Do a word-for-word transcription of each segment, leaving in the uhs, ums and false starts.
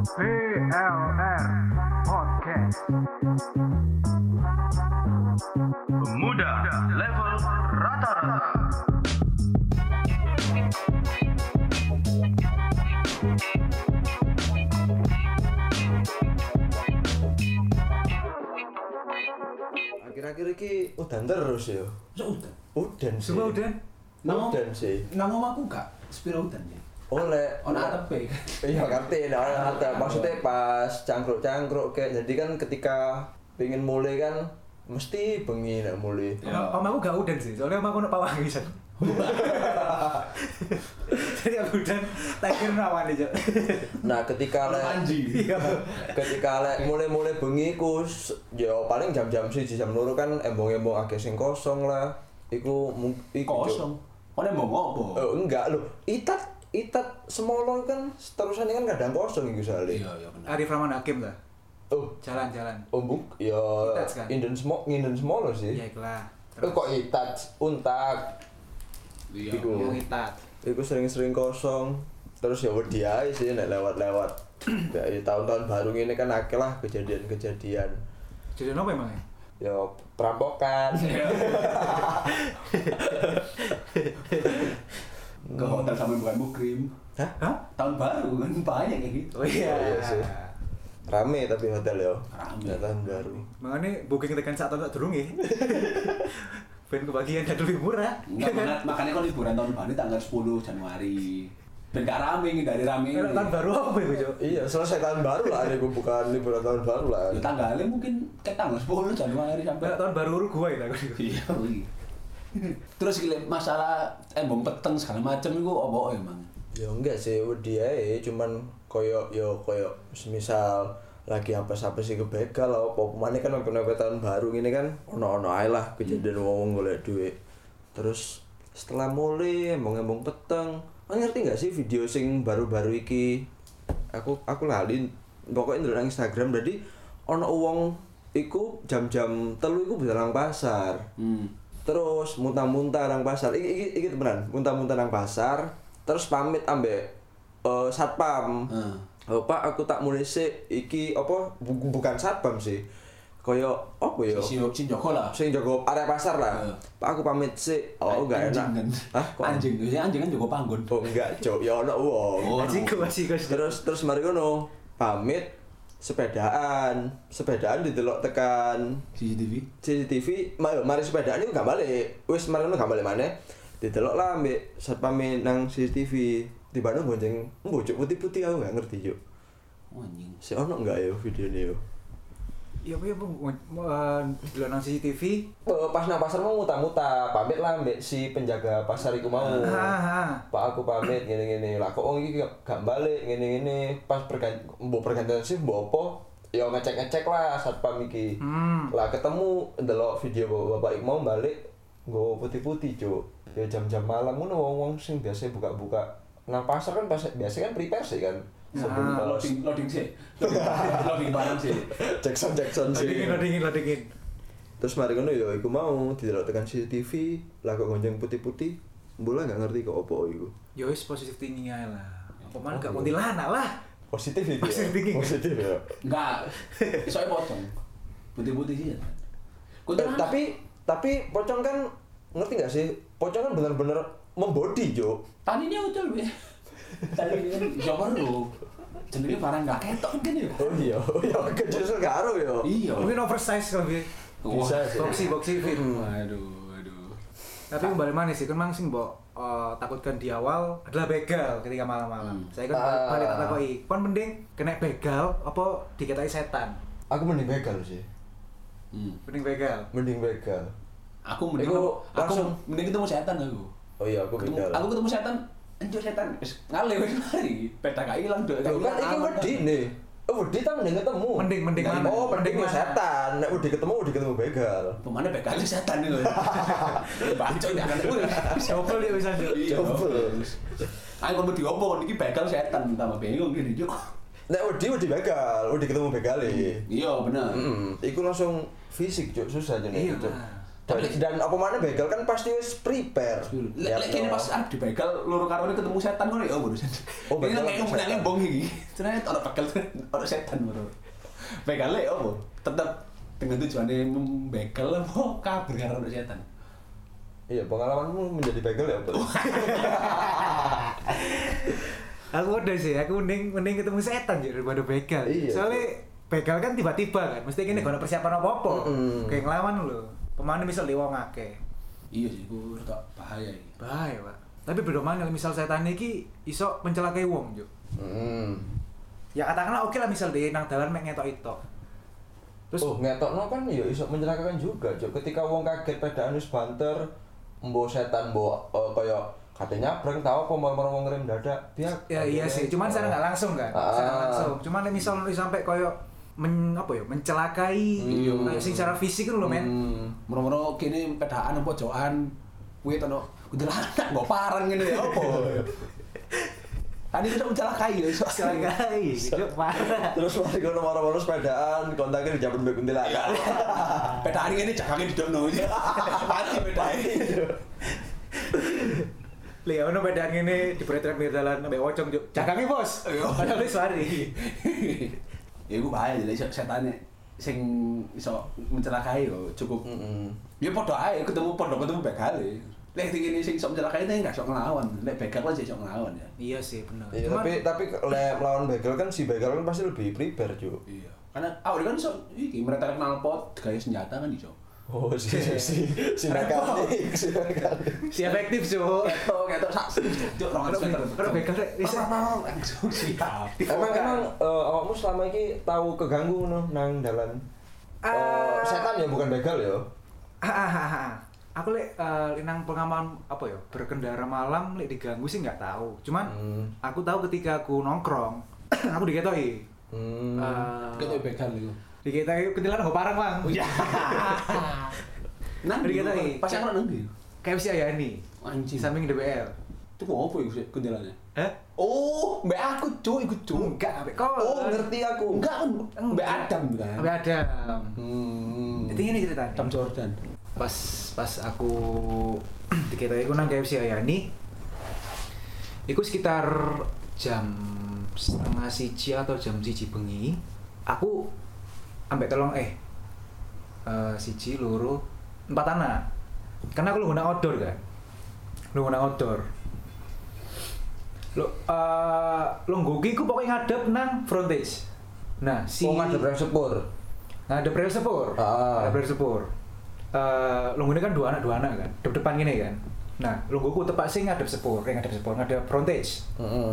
V L R Podcast. Pemuda level rata-rata. Akhir-akhir iki udan terus ya. Udan. Udan sih. Semua udan. Nang Udan sih. nang omahku gak sepiro udan ya. Oleh Ono atepe. iya ngerti, nah ono atep. Maksudnya pas cangkruk-cangkruk kayak jadi kan ketika pengen mulai kan mesti bengi nek mulai. Ya. Om aku gak udan sih, soalnya om aku nak pawang bisa. Jadi aku udan, tak kira rawan aja. Nah, ketika lek Anjing. ketika lek mulai-mulai bengi ku s- ya paling jam-jam siji jam loro kan embong-embong akeh sing kosong lah. Iku mung- iku Kosong. Kone mau ngopo? Oh, enggak loh. Itat itat semolo kan terusan kan kadang kosong iku soalnya. Iya, iya benar. Arif Rahman Hakim lah, Oh, jalan-jalan. oh buk, ya Itat kan? inden semua inden semolo sih. Ya ikhlas. Eh, kok itat untak. Iya. Iku. Yang itat. Iku sering-sering kosong. Terus ya wedi ae sih nek lewat-lewat. Ya tahun-tahun baru ini kan akeh lah kejadian-kejadian. Jadi apa emangnya? Ya perampokan. Ke hotel sampai bukan mukrim. Hah? Hah? Tahun baru kan banyak kayak gitu. Oh iya. Oh, iya sih. Rame tapi hotel ya. Rame. Ya, tahun baru. Makanya booking tekan saat tahun tak durung ya. Ben kebagian dan lebih murah. Enggak, makanya, makanya kan liburan tahun baru tanggal sepuluh Januari. Ben gak rame dari rame. Kalau tahun baru apa ya, Jo? Iya, selesai tahun baru lah ada bukan liburan tahun baru lah. Ya tanggalnya mungkin ke tanggal sepuluh Januari sampai Kalau tahun baru Uruguay lah. iya. iya. Terus gile masalah embong peteng segala macam itu apa emang? Ya enggak sih, wedi ae cuman koyo yo koyo semisal lagi apa-apa sih kebegal lah apa pemane kan sampai tahun baru ini kan ono-ono ae lah kejadian wong golek duit. Terus setelah mulai embong-embong peteng, kan ngerti enggak sih video sing baru-baru iki? Aku aku lali pokoknya ndelok nang Instagram jadi ono wong iku jam-jam telu iku bisa nang pasar. Hmm. Terus muntah-muntah nang pasar. Iki iki iki temenan, muntah-muntah nang pasar. Terus pamit ambek eh, satpam. Heeh. Oh, Pak, aku tak mulai sik iki apa bu- bukan satpam sih. Kaya apa ya? Si si Joko lah. Sing jaga area pasar lah. Heeh. Pak, aku pamit sik. Oh, enggak Anjing enak. kan? Hah? Kok Anjing, biasanya anjing kan Joko Panggon. Oh, enggak, Cok. Ya ono wong. Oh, Masih ke masih ke. Terus terus mari ngono, pamit sepedaan. Sepedaan didelok tekan C C T V. C C T V, ma- mari sepedaan itu gak balik. Wis mari ngono gak balik maneh. Didelok lah ambek satpam nang C C T V. Tiba-tiba bonceng mbocok putih-putih aku gak ngerti, Juk. Oh, anjing. Si ono enggak ya videonya yo? Iya apa ya Bung? Dulu nang C C T V. Eh, Pas nang pasar mau muta-muta, pamit lah ambek si penjaga pasar iku mau. Ah, Pak aku pamit ngene-ngene. Lah kok wong iki gak- gak balik ngene-ngene. Pas pergantian mbok pergantian sih mbok apa? Ya ngecek-ngecek lah satpam iki. Hmm. Lah ketemu ndelok video bapak iku mau balik nggo putih-putih, Cuk. Ya jam-jam malam ngono wong-wong sing biasa buka-buka nang pasar kan pas biasa kan prepare sih kan. Sebelum Nah, los. Loading loading sih. Loading loading barang sih. Jackson Jackson sih. Lodingin, lodingin, lodingin. Terus mari ngono ya iku mau didelok tekan C C T V, lah kok gonjang putih-putih. Bola gak ngerti kok opo iku. Ya wis positif thinking aja lah. Apa mana gak Oh, kuntilanak lah. Positif itu. Positif ya? thinking. Positif ya. Enggak. Soalnya pocong. Putih-putih sih. Kau Eh, tapi tapi pocong kan ngerti gak sih? Pocong kan bener-bener membody, Jo. tadinya utul be. Tadi kan Joko lu. Jenenge barang gak ketok kan ya. Oh iya, oh iya kecil sekaro ya. Iya. Mungkin oversize kalau dia. Bisa sih. Boxy, boxy fit. Waduh, waduh. Tapi kembali mana sih? Kan mang sing mbok eh, takutkan di awal adalah begal ketika malam-malam. Hmm. Saya kan Ah. balik tak takoki. Kon mending kena begal apa dikatai setan? Aku mending begal sih. Hmm. Mending begal. Mending begal. Aku mending Iku aku langsung- mending ketemu setan aku. Oh iya, aku Ketemu, begal. aku ketemu setan. Anjir setan. Wis ngale wis mari. Peta gak ilang dok. Loh, kan iki wedi nih. Oh, wedi ta mending ketemu. Mending mending Nah, mana? Oh, mending mana? setan. Nek wedi ketemu, wedi ketemu begal. Pemane begal setan itu. Bacot ya kan. Coba dia bisa. Coba. Aku mau diopo iki begal setan tambah bingung gini juk. Nek wedi wedi begal, wedi ketemu begale. Iya bener. Heeh. Iku langsung fisik, Cuk, susah jenenge Iya. Cuk. Dan, dan apa mana begal kan pasti wis prepare. Lek lek kene pas arep dibegal loro karone ketemu setan ngono ya barusan. Oh, ini begal nek ketemu ngomong setan. bong iki. Ternyata ono begal ono setan baru. Begale opo? Tetep dengan tujuane membegal apa kabur karo ono setan. Iya, pengalamanmu menjadi begal ya, Bro? Aku udah sih, aku mending mending ketemu setan jadi daripada begal. Iya, Soalnya begal kan tiba-tiba kan, mesti gini gak ada persiapan apa-apa. Mm-mm. Kayak ngelawan lho. Pemain misal di wong akeh. Iya sih, ku rada bahaya iki. Bahaya, Pak. Tapi beda mana misal setan iki iso mencelakai wong, Juk. Hmm. Ya katakanlah oke lah misal di nang dalan mek ngetok itu. Terus Oh, ngetokno kan ya iso mencelakakan juga, Cuk. Ketika wong kaget pedaan wis banter, mbok setan mbok uh, kaya kate nyabrang tau apa mau wong ngerem dadak. Biak. ya iya sih, cuman secara nggak langsung kan. Ah. Secara langsung. Cuman misal sampai koyo men apa ya mencelakai Iya. kayak sing secara fisik kan lho men. Hmm. Moro-moro kene pedaan apa jokan kuwi tono kuntilanak mbok parang ngene ya opo. Tadi kita mencelakai ya iso. Mencelakai, itu parah. Terus mari kono maro-maro sepedaan, kontaknya dijabut mbek kuntilanak. Pedaan ngene jagangnya didokno. Mati pedaan. Lihat ono pedang ini diberet-beret pinggir dalan ambek ocong juk. Jagange, Bos. Padahal wis wari. Ya iku bahaya jadi setane sing iso mencelakai yo cukup. Heeh. Ya padha ae ketemu padha ketemu begale. Lek ngene sing iso mencelakai teh enggak iso nglawan. Lek begal kan iso nglawan ya. Iya sih, bener. Iya, Cuman- tapi tapi lek melawan begal kan si begal kan pasti lebih prepare, Cuk. Iya. Karena awalnya kan iso iki mereka knalpot gawe senjata kan iso. Oh, si si si si mekanik, si mekanik. si efektif, Juk. Ketok ketok sak juk rong ratus meter. Kalau begal rek wis langsung siap. Emang emang eh, awakmu selama ini tahu keganggu no nang dalan? Eh, Ah. setan ya bukan begal ya. Ah, ah, ah, ah. Aku lek eh, nang pengalaman apa ya berkendara malam lek diganggu sih nggak tahu. Cuman Hmm. aku tahu ketika aku nongkrong aku diketoki. Hmm. Eh, Ketok begal iku. diketoki kuntilanak nggo parang, Bang. Iya. Nang Jadi kita kita pas aku nang ndi? Kayak si Ayani. Anjing. Samping D P R. Itu kok apa iku sih kuntilane? Eh? Oh, mbak aku cuk, iku cuk. Enggak, ambek kau. Oh, ngerti aku. Enggak kan, mbak Adam kan. Ambek ada. Hmm. Jadi ini ceritanya. Adam Jordan. Pas pas aku diketoki aku nang K F C Ayani. Iku sekitar jam setengah siji atau jam siji bengi. Aku ambek tolong eh eh, siji loro empat anak. Karena aku lu guna outdoor kan. Lu guna outdoor. Lo eh lo nggoki ku pokoknya ngadep nang frontage. Nah, si Oh, ngadep rel sepur. ngadep rel sepur. Ah. Ngadep rel sepur. Eh lo ini kan dua anak dua anak kan. Depan gini kan. Nah, lo nggoku tepak sing ngadep sepur, eh ngadep sepur, ngadep frontage. Heeh.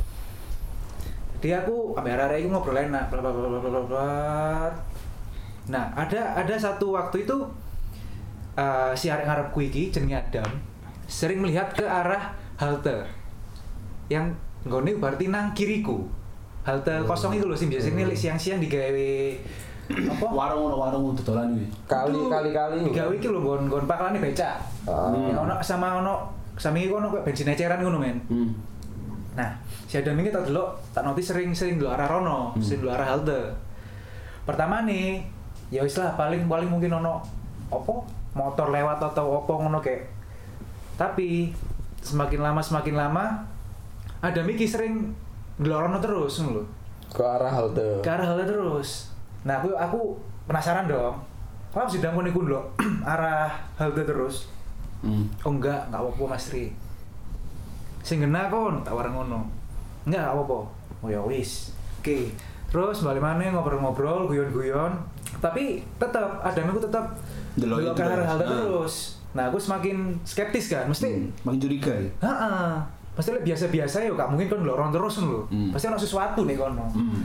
Dia aku ambek arek-arek iku ngobrol enak, bla bla bla bla bla bla. Nah, ada ada satu waktu itu uh, si arek ngarepku iki jenenge Adam sering melihat ke arah halte. Yang nggone berarti nang kiriku. Halte kosong itu lho sing biasanya hmm. siang-siang digawe apa? Warung ono warung dodolan iki. Kali Itu kali kali. Digawe iki lho nggon nggon paklane becak. Ah. Ya ono sama ono sami iku ono kayak bensin eceran ngono men. Hmm. Nah, si Adam ini tak delok, tak noti sering-sering delok arah rono, Hmm. sering delok arah halte. Pertama nih, ya wis lah paling paling mungkin ono opo motor lewat atau opo ngono kayak. Tapi semakin lama semakin lama Adam iki sering delok rono terus ngono lho. Ke arah halte. Ke arah halte terus. Nah, aku aku penasaran dong. Kok harus didangkon iku lho arah halte terus? Hmm. Oh enggak, enggak apa-apa Mas Tri. Sing ngena kon, tak wareng ngono. Enggak apa-apa. Oh ya wis. Oke. Terus balik maneh ngobrol-ngobrol, guyon-guyon. Tapi tetap Adam aku tetap Delok delok itu ke arah terus. halte Ah. terus. Nah, aku semakin skeptis kan, mesti Hmm. Makin curiga ya. heeh. Pasti lek biasa-biasa ya gak mungkin kon ndelok terus lho. Hmm. Pasti ono sesuatu nih kono. Hmm.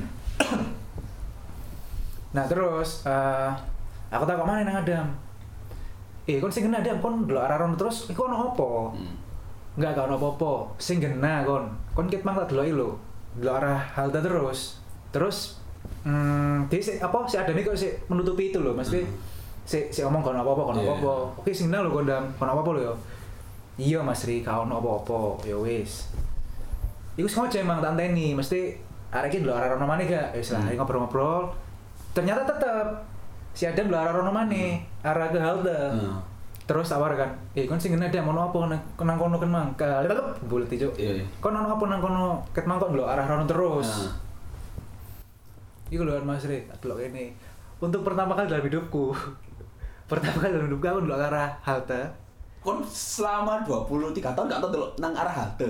Nah, terus eh aku tak kok mana nang Adam. Eh, kon sing ngena Adam, kon ndelok arah rono terus iku ono apa? Hmm. Enggak, gak ono apa-apa. Sing gena kon. Kon ket mang tak deloki lho. Delok arah halte terus. Terus hmm, dia si, apa si Adam iki kok si menutupi itu lho, mesti si si omong kon apa-apa, kon Yeah. apa-apa. Oke, sing gena lho Gondam, kon apa-apa lho ya. Iya Mas Ri, gak ono apa-apa. Ya wis. Iku sengaja emang tak anteni, mesti arek iki delok arah rono maneh gak? Ya wis lah, Hmm. ngobrol-ngobrol. Ternyata tetep si Adam delok arah rono maneh, arah ke halte. Hmm. Terus awar kan, eh kon sing ngene ada ono apa nang nang kono kan mang. Kalep bulet ijo. Iya. Kon ono apa nang kono ket mang kok ndelok arah rono terus. Nah. Iku lho Mas Rit, delok kene. Untuk pertama kali dalam hidupku. Pertama kali dalam hidupku aku ndelok arah halte. Kon selama dua puluh tiga tahun gak tau delok nang arah halte.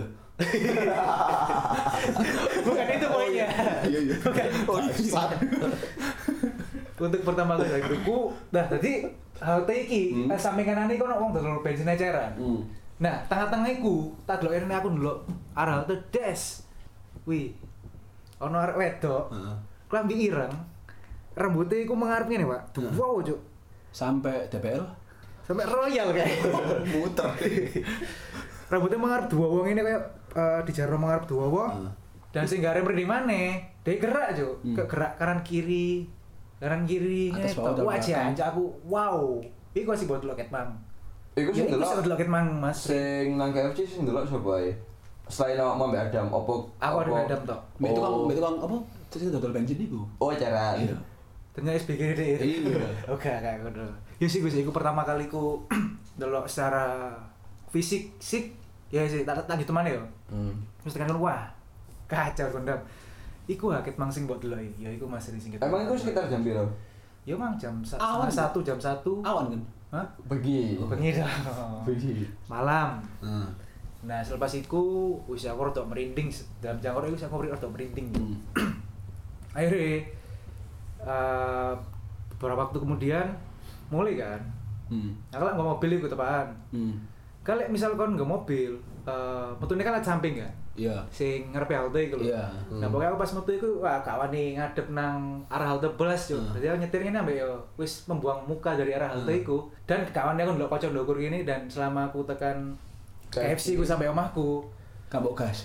Bukan itu poinnya. Iya iya. Bukan. Oh, iya. Untuk pertama kali dalam hidupku, nah tadi halte iki, Hmm. eh, samping kanane kono wong dodol bensin eceran. Hmm. Nah, tengah-tengah iku, tak delok rene aku ndelok arah halte des. Wih. Ono arek wedok. Heeh. Klambi ireng. Rambutnya iku mengarep ngene, Pak. Wow, Cuk. Sampai D P L Sampai royal kayak. muter. Rambutnya mengarep dua wong ini kayak uh, di jaro mengarep dua wong. Heeh. Dan sing gare mrene maneh, dia gerak, Cuk. Hmm. Ke gerak kanan kiri. Kanan kiri Atas ngene. bawah, dan Wah, belakang. jancuk aku. Wow. Iku sih buat loket Mang. Iku Ya, sing iku delok sing delok ket Mang, Mas. sing nang K F C sing delok sapa ae? Selain awak Mbak Adam, opo? Aku ada opo- Adam tok. Mbak itu kan, Oh. mbak itu kan apa? Terus dodol bensin iku. Oh, acara. Iya. Ternyata S B G D. Iya. Oke, kayak ngono. Ya sih Gus, iku pertama kali ku delok secara fisik sik. Ya sih, tak tak gitu mana ya. Hmm. Terus tekan wah. Kacau kondam. Iku haket mang sing mbok delok. Ya iku Mas Ri sing kita. Emang itu sekitar jam piro? Ya mang jam sa- Awan, setengah satu jam satu. Awan kan? Hah? Bengi. Bengi dong. Bengi. Malam. Heeh. Nah, selepas iku wis aku rada merinding dalam jangkor iku aku rada merinding. Hmm. Akhirnya eh, beberapa waktu kemudian mulai kan. Hmm. Aku lek nggak mobil iku tepaan. Hmm. Kalau misal kon nggak mobil, eh metune kan ada samping kan. Iya. Sing ngarepe halte iku lho. Iya. Nah, pokoknya aku pas metu iku wah gak wani ngadep nang arah halte belas yo. Hmm. Jadi aku nyetir ngene ambek yo wis membuang muka dari arah halte Hmm. iku dan kawannya aku ndelok kocok ndokur gini dan selama aku tekan K F C ku sampai omahku. Kabok gas.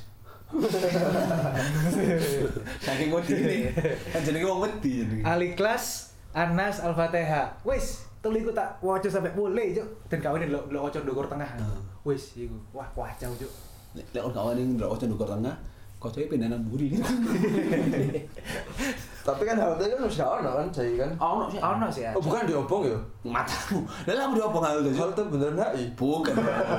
Saking wedi ini. Kan jenenge wong wedi jenenge. Ali kelas Anas Al-Fatihah. Wis, tuliku tak waca sampai boleh, Cuk. Dan kawannya ndelok ndelok kocok ndokur tengah. Hmm. Wis iku. Wah, kacau, Cuk. Lek orang kawan yang ndelok ndukur tengah, kocoke pindahan buri. Tapi kan halte kan wis gak ono kan, jadi kan. Ono sih. Ono sih ya. Oh, bukan diobong ya? Matamu. Lah lah diobong hal itu. Halte beneran H I. Bukan.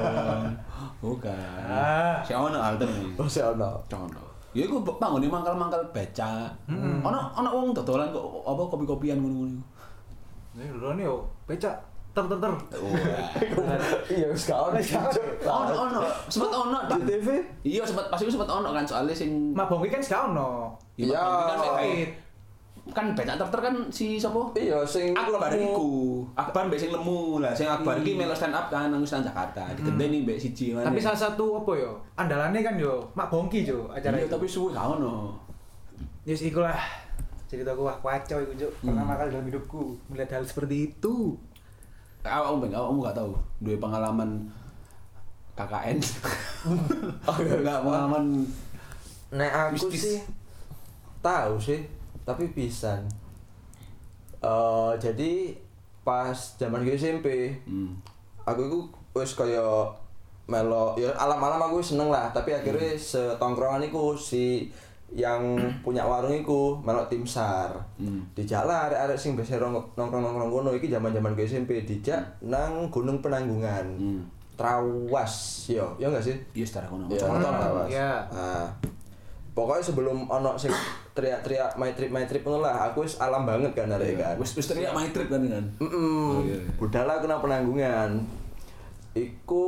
Bukan. Ah. Si ono alter nih. Oh, sih ono. Ono. Ya iku bangun mangkal-mangkal beca. Ono ono wong dodolan kok apa kopi-kopian ngono-ngono. Nih, lho nih yo, becak ter ter ter. Iya, wis gak ono. Ono ono, sempat ono Di T V? Iya sempat pas itu sempat ono kan soalnya sing Mak Bongki kan gak ono. Iya. kan Pahit. kan becak ter kan si sapa? Iya, sing Akbar lemu. iku. Akbar mbek sing lemu lah, sing Akbar iki melu stand up kan nang Wisma Jakarta. Digenteni mbek siji mana. Tapi salah satu apa yo? Andalannya kan yo Mak Bongki jo acara iya itu. tapi suwe gak ono. Yes, ikulah ceritaku wah kacau iku Cuk. Pertama kali dalam hidupku melihat hal seperti itu. Awakmu ben awakmu gak tahu duwe pengalaman K K N. Oh, enggak pengalaman Nek aku Mistis. sih tahu sih, tapi pisan. Eh jadi pas zaman gue S M P, hmm. aku itu wis kaya melo ya alam-alam aku wis seneng lah, tapi akhirnya setongkrongan iku si yang punya warung iku melok tim SAR. Hmm. Dijak lah arek-arek sing biasa rong- nongkrong-nongkrong kono iki zaman-zaman gue S M P dijak nang Gunung Penanggungan. Hmm. Trawas yo, ya enggak sih? Iya secara kono. Ya, Hmm, Trawas. iya. Nah, pokoknya sebelum ono sing teriak-teriak my trip my trip ngono lah, aku wis alam banget kan arek kan. Wis wis teriak my trip kan kan. Heeh. Oh, iya, iya. Budal aku nang Penanggungan. Iku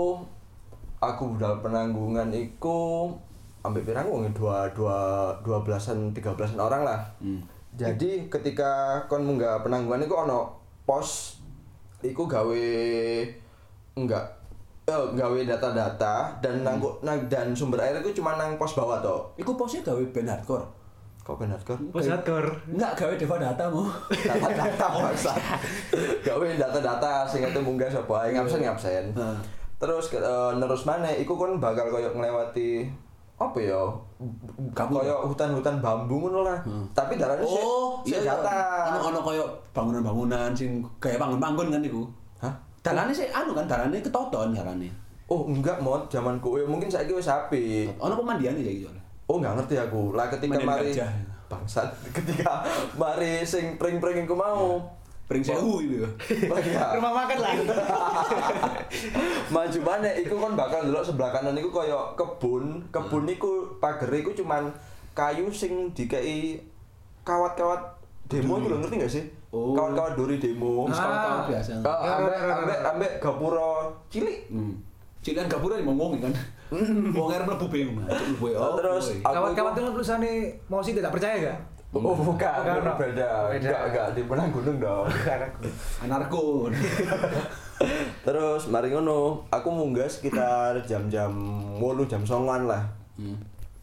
aku budal Penanggungan iku ambek pirang wong dua dua dua belasan tiga belasan orang lah. Hmm. Jadi ketika kon munggah Penanggungan iku ono pos iku gawe enggak eh gawe data-data dan nang, nang dan sumber air iku cuma nang pos bawah to. Iku posnya gawe band hardcore. Kok benar kan? Pos hardcore. Enggak gawe Deva Data mu. Data-data bangsa. Gawe data-data sing itu munggah sapa ae ngabsen ngabsen. Heeh. Terus uh, nerus maneh iku kon bakal koyo nglewati apa ya? Gabung. Koyo hutan-hutan bambu ngono lah. Hmm. Tapi darane sik Oh, sik iya. data. Ono ono koyo bangunan-bangunan sing gaya panggon-panggon kan iku. Hah? Dalane sih anu kan, dalane ketoton dalane. Oh, enggak mod, zamanku ya mungkin saiki wis apik. Ono pemandiane saiki soalnya. Oh, enggak ngerti aku. Lah ketika Mandian mari gajah. bangsat ketika mari sing pring-pring iku mau Pring sewu itu. Iya. Rumah makan lah. Maju maneh iku kon bakal ndelok sebelah kanan iku kaya kebun. Kebun iku pagere iku cuman kayu sing dikei kawat-kawat demo iku lho ngerti gak sih? Oh. Kawat-kawat duri demo. Kawat-kawat biasa. Oh, ambek ambek ambek gapura cilik. Hmm. Cik kan gapura ngomong kan. Wong arep mlebu bingung. Mlebu Oh, terus aku Kawan-kawan iku- itu tulisannya mau sih tidak percaya gak? Oh bukan, Bukan, itu no. beda. Beda. Enggak, enggak di Penang Gunung dong. Anarko. Terus mari ngono, aku munggah sekitar jam-jam wolu jam songoan lah. Hmm.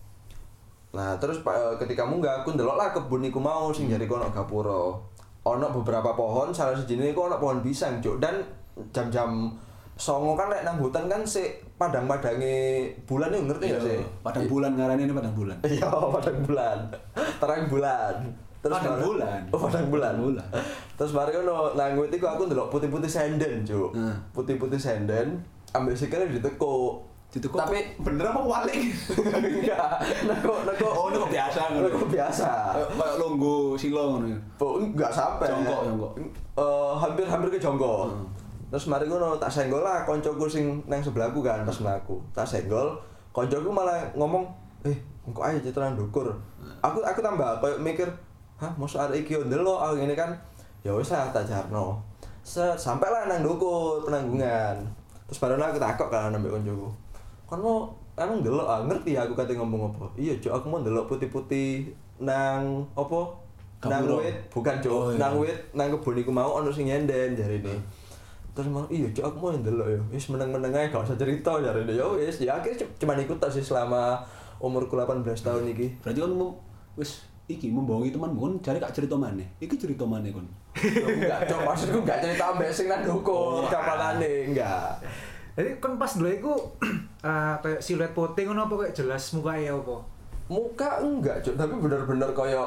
Nah, terus pa- eh, ketika munggah aku ndelok lah kebun iku mau sing jare kono gapura. Ono beberapa pohon, salah sijine iku ono pohon pisang, Cuk. Dan jam-jam songo kan lek nang hutan kan sik padang-padange bulan yo ngerti gak sih? Padang bulan ngarane ini padang bulan. Iya, padang bulan. Terang bulan. Padang mari- bulan. Oh, padang bulan. Padang bulan. Terus mari ngono, nang wit iku aku ndelok putih-putih senden, Cuk. Hmm. Putih-putih senden, ambek sikile ditekuk. Ditekuk Tapi bener apa walik? enggak, nekuk nekuk. Oh, nekuk biasa ngono. Nekuk biasa. Kayak longgo silo ngono. Oh, enggak sampai. Jongkok, jongkok. Eh, hampir-hampir ke jongkok. Hmm. Terus mari ngono tak senggol lah koncoku sing nang sebelahku kan pas mlaku. Tak senggol, koncoku malah ngomong, "Eh, engko ae citra ndukur." Aku aku tambah koyo mikir, "Hah, mosok arek iki yo ndelok aku ngene kan." Ya wis lah tak jarno. Set sampai lah nang ndukur penanggungan. Terus baru aku takok kan ambek koncoku. Kan mau emang ndelok ah ngerti aku kate ngomong apa? Iya, Cuk, aku mau ndelok putih-putih nang apa? Nang Gapura. wit, bukan Cuk, Oh, iya. nang wit nang kebun iku mau ono sing nyenden jarine. Terus mau iya Cuk, aku mau ndelok ya. Wis meneng-meneng ae gak usah cerita jarine. Ya wis, ya akhirnya cuma ikut tok sih selama umurku delapan belas tahun iki. Berarti kan mau wis iki membohongi temanmu kan cari kak cerita maneh. Iki cerita maneh kon. Enggak, Cuk, maksudku enggak cerita ambek sing nang Oh. dukur, kapalane enggak. Jadi kan pas dulu iku eh, kayak siluet putih ngono apa kayak jelas mukanya apa? Muka enggak, Cuk, tapi bener-bener koyo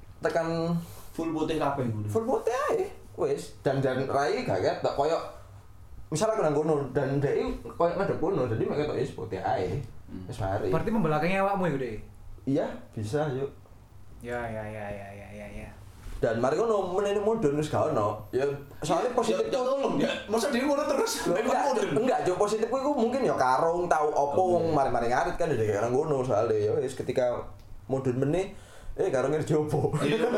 tekan Full putih kabeh ngono. full putih ae. Wis, dan dan rai gak ketok koyo misalnya aku nang kono dan dhek koyo ngadep kono, jadi mek ketok wis putih ae. Wis mari. Berarti membelakangi awakmu ya, Dek? Iya, bisa yuk. Ya ya ya ya ya ya ya. Dan mari kono menene modern wis gak ono. Ya soalnya positif Ya tolong ya. Masa dia ngono terus? Loh, enggak, Cuk, enggak, Cuk, positif ku iku mungkin ya karung tau opo wong mari-mari ngarit kan dari nang kono soalnya ya wis ketika modern meneh eh karungnya jopo.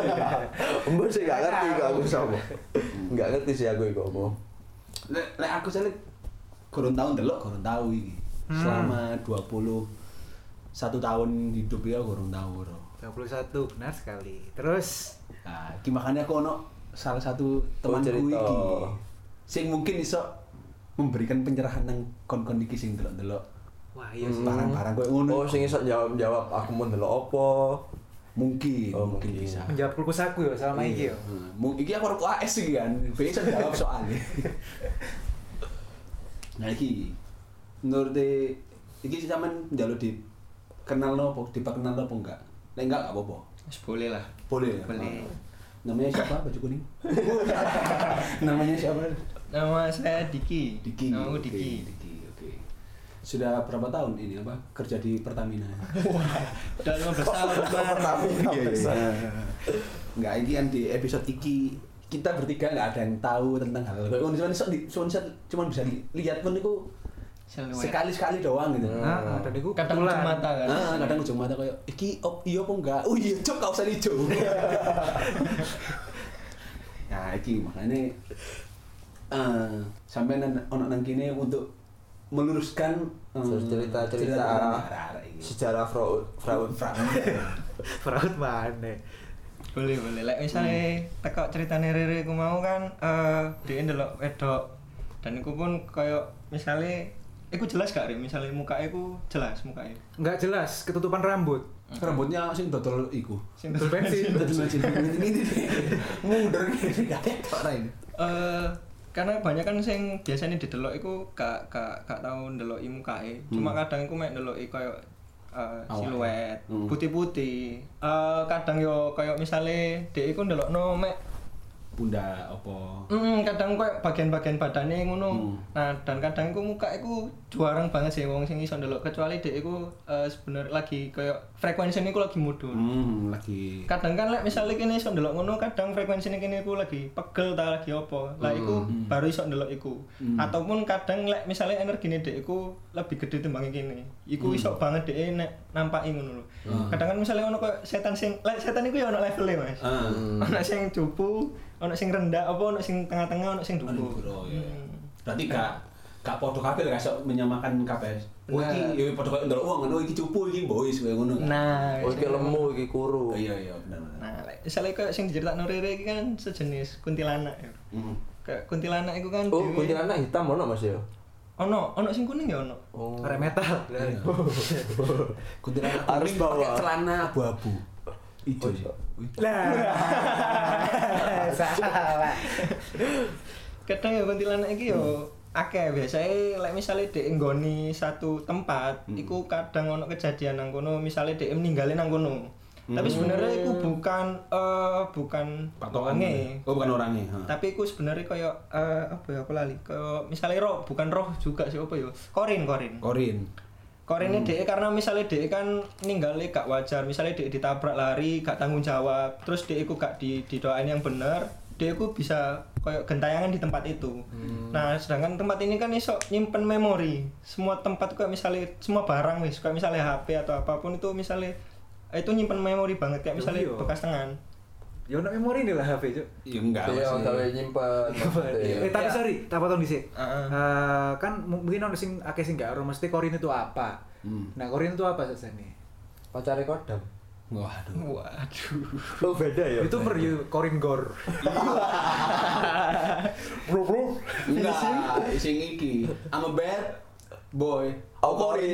Mbok sih gak ngerti kok aku sapa. Enggak ngerti sih aku iku apa. Lek lek aku sale kurang tahun delok, kurang tahu iki. Selama dua puluh satu tahun hidup ya kurang tahu bro. dua puluh satu, benar sekali. Terus Nah, iki makanya aku ono salah satu temanku cerita. iki sing mungkin iso memberikan pencerahan nang kon-kon iki sing delok-delok wah iya sih. barang-barang koyo ngono. Oh, sing iso jawab-jawab aku mau ndelok apa. Mungkin, Oh, mungkin mungkin. bisa. Menjawab pulkus aku ya selama iki ya. Hmm, mungkin iki aku arep A S iki kan. Bisa jawab soalnya. Nah iki menurut de iki sampean njaluk di kenal nopo, diperkenal nopo enggak? Nek enggak enggak apa-apa. Wis boleh lah. Boleh ya? Boleh. Namanya siapa baju kuning? Namanya siapa? Nama saya Diki. Diki. Nama aku Oke, Diki. Diki, oke. Sudah berapa tahun ini apa kerja di Pertamina? Udah lima belas tahun, Pak. Iya, iya. Enggak, ini kan di episode iki kita bertiga nggak ada yang tahu tentang hal kayak ngono cuman iso di- cuman bisa- cuman bisa lihat pun itu sekali-sekali doang gitu. Nah, dan itu Kadang ujung mata kan. Ah, kadang ujung mata kayak iki op iya apa enggak? Oh iya, cok gak usah dijo. Nah, iki makanya eh sampai ono nang kene untuk meluruskan eh, Terus cerita-cerita arah-arah iki. sejarah fraud fraud Fraud. Fraud mana? Boleh, boleh. Lek misale teko ceritane Rere ku mau kan eh dia ndelok wedok dan iku pun koyo misale iku jelas gak Rere? Misale mukake ku jelas mukake. Enggak jelas, ketutupan rambut. Rambutnya sing dodol iku. Sing Dodol bensin. Dodol bensin. Ini mundur gini gak ketok ra ini. Eh karena banyak kan sing biasanya didelok iku gak gak gak tau ndeloki mukake. Cuma kadang iku mek ndeloki koyo uh, Awake. siluet, Hmm. putih-putih. Eh kadang yo koyo misale dhek iku ndelokno mek pundak apa. Hmm, kadang koyo bagian-bagian badannya ngono. Hmm. Nah, dan kadang iku muka iku juarang banget sih wong sing iso ndelok kecuali dhek iku uh, sebenarnya lagi koyo frekuensinya iku lagi mudhun. Hmm, lagi Kadang kan lek misalnya kene iso ndelok ngono, kadang frekuensinya kene iku lagi pegel ta lagi apa. Lah iku Hmm. baru iso ndelok iku. Hmm. Ataupun kadang lek misalnya energine dhek iku lebih gede timbang kene. Iku Hmm. iso banget dhek nek nampaki ngono lho. Hmm. Kadang kan misalnya ono koyo setan sing lek setan iku ya ono levele, Mas. ah. Ono sing cupu, ono sing rendah, apa ono sing tengah-tengah, ono sing Aduh, dhuwur. bro, ya. Hmm. Berarti gak gak padha kabeh gak iso menyamakan kabeh. Oh Nah. iki ya padha kaya ndelok wong ngono iki cupu iki boys kaya ngono. kan? Nah, Oh, iki lemu, iki kuru. Oh, iya iya benar benar. Nah, lek misalnya kayak sing diceritakno Rere iki kan sejenis kuntilanak ya. Hmm. Kayak kuntilanak iku kan Oh, dhewe- kuntilanak hitam ono Mas ya? Ono, ono sing kuning ya ono. Oh. Arek metal. Iya. Kuntilanak Harus kuning bawa. pakai celana abu-abu. Ijo Oh, sih. Lah. Salah. Kadang ya kuntilanak iki yo akeh biasanya lek misale dhek nggoni satu tempat, Hmm. iku kadang ono kejadian nang kono, misale dhek meninggalin nang kono. Tapi Hmm. sebenarnya iku bukan eh bukan Patokan. wonge. Oh bukan orangnya. ha. Tapi iku sebenarnya kayak eh, apa ya aku lali. Kayak misalnya roh, bukan roh juga sih apa ya? Korin, korin. Korin. Korine dhek karena misalnya dhek kan ninggalnya gak wajar, misalnya dhek ditabrak lari, gak tanggung jawab, terus dhek iku gak di didoain yang bener, dhek iku bisa kayak gentayangan di tempat itu. Nah, sedangkan tempat ini kan iso nyimpen memori. Semua tempat kayak misalnya semua barang wis, kayak misalnya H P atau apapun itu misalnya itu nyimpen memori banget kayak misalnya Iya. bekas tangan. Ya ono memori nih lah H P, Cuk. Ya enggak Iya, sih. gawe nyimpen. Eh tapi Ya. sorry, tak potong dhisik. Heeh. Eh, kan m- mungkin ono sing akeh sing gak ero mesti korin itu apa. Hmm. Nah, korin itu apa sesane? Pacare kodam. Waduh. Waduh. Oh, beda ya. Itu per you korin gor. Bro, bro. Enggak, sing iki. I'm a bad boy. Oh, korin.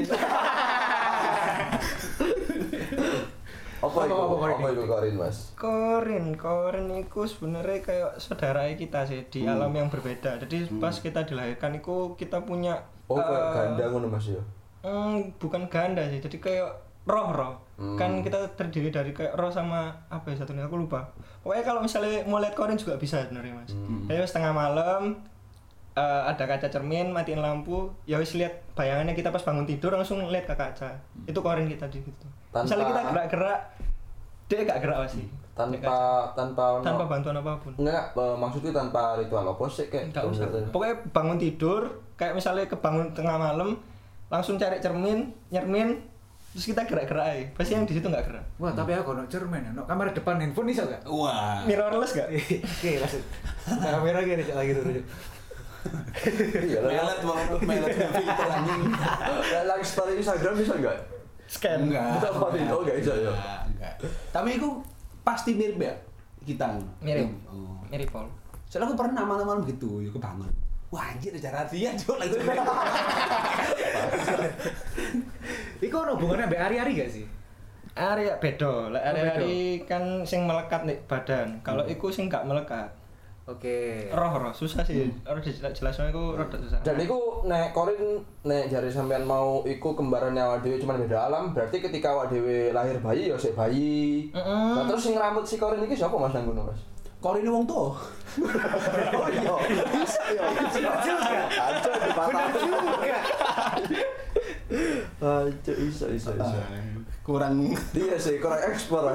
Apa itu? Apa, apa, korin? Apa itu korin, Mas? Korin, korin itu sebenarnya kayak saudara kita sih di Hmm. alam yang berbeda. Jadi pas kita dilahirkan itu kita punya Oh, kayak eh, ganda ngono Mas ya. hmm, bukan ganda sih. Jadi kayak roh-roh. Hmm. Kan kita terdiri dari kayak roh sama apa ya satunya aku lupa. Pokoknya kalau misalnya mau lihat korin juga bisa sebenarnya Mas. Hmm. Jadi setengah malam eh, ada kaca cermin, matiin lampu, ya wis lihat bayangannya kita pas bangun tidur langsung lihat ke kaca. Itu korin kita di situ. Tanpa- Misalnya kita gerak-gerak, dia gak gerak sih. Tanpa tanpa ono- tanpa bantuan apapun. Enggak, eh, maksudku tanpa ritual apa sih kayak Enggak usah. bener-bener. Pokoknya bangun tidur, kayak misalnya kebangun tengah malam, langsung cari cermin, nyermin, terus kita gerak-gerak aja. Pasti yang di situ nggak gerak. Wah, tapi aku ono cermin, ono kamera depan handphone iso gak? Wah. Mirrorless gak? Oke, langsung. Kamera gini Cuk, lagi dulu. Cuk. Iya lah. Melet banget, melet filter anjing. Lah story Instagram bisa enggak? Scan. Enggak. Bisa apa nih? Oh, enggak bisa ya. Enggak, enggak. Tapi itu pasti mirip ya kita. Mirip. Oh. Mirip Paul. Soalnya aku pernah malam-malam gitu, ya kebangun. Wah anjir cara dia Cuk langsung. Iku ono hubungannya mbek ari-ari gak sih? Area beda. Lah Oh, area-area kan sing melekat nih badan. Kalau iku sing gak melekat. Oke. Roh-roh susah sih. Harus jelasnya iku rada susah. Dan iku nek korin nek jari sampean mau iku kembarannya awak dhewe cuman beda alam, berarti ketika awak dhewe lahir bayi ya sik bayi. Heeh. Nah, terus sing rambut si korin iki sapa Mas nang kono, Mas? Korin wong tuh. Oh iya, bisa ya. Bisa juga. Aja dipatah. juga. Aja bisa bisa bisa. Kurang Dia sih kurang ekspor.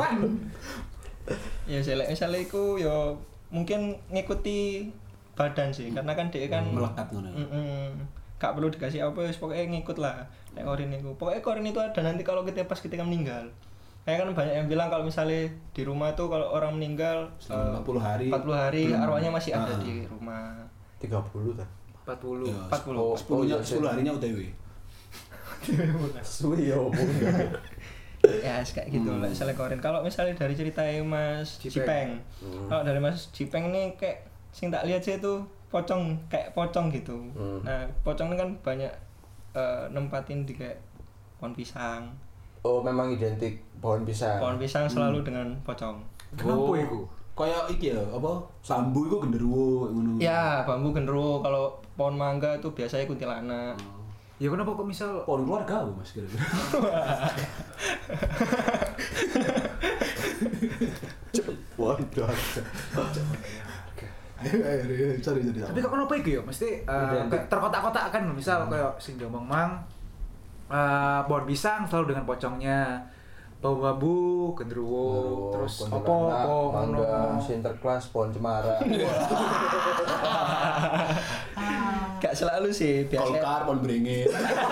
Ya saya misalnya iku ya mungkin ngikuti badan sih karena kan dia kan melekat ngono. Mm-mm. Gak perlu dikasih apa wis pokoknya ngikut lah nek korin itu. Pokoknya korin itu ada nanti kalau kita pas ketika meninggal. Kayak kan banyak yang bilang kalau misalnya di rumah tuh kalau orang meninggal Selama empat puluh hari. empat puluh hari belum- arwahnya masih ada Ah. di rumah. tiga puluh kan. empat puluh. Ya, empat puluh. Oh, sepuluh-nya oh iya, sepuluh sih. harinya O T W. Suwi ya opo. Ya kayak gitu lah misalnya korin. Kalau misalnya dari cerita Mas Jipeng. Jipeng. Hmm. Kalau dari Mas Jipeng ini kayak sing tak lihat sih itu pocong kayak pocong gitu. Hmm. Nah, pocong ini kan banyak eh, nempatin di kayak pohon pisang. Oh, memang identik pohon pisang. Pohon pisang selalu dengan pocong. Kenapa iku? Kayak iki ya, apa? Bambu iku genderuwo ngono. Ya, bambu genderuwo. Kalau pohon mangga itu biasanya kuntilanak. Ya kenapa kok misal Pohon keluarga apa, Mas kira-kira? Wah, Waduh. Ayo ayo ayo, sorry sorry. Tapi kok kenapa iku ya? Mesti eh, Identik. terkotak-kotak kan misal kayak sing diomong mang eh pohon pisang selalu dengan pocongnya. Bambu, gendruwo, terus opo opo mangga, Sinterklas, pohon cemara. Gak selalu sih, biasanya Kolkar, pohon beringin.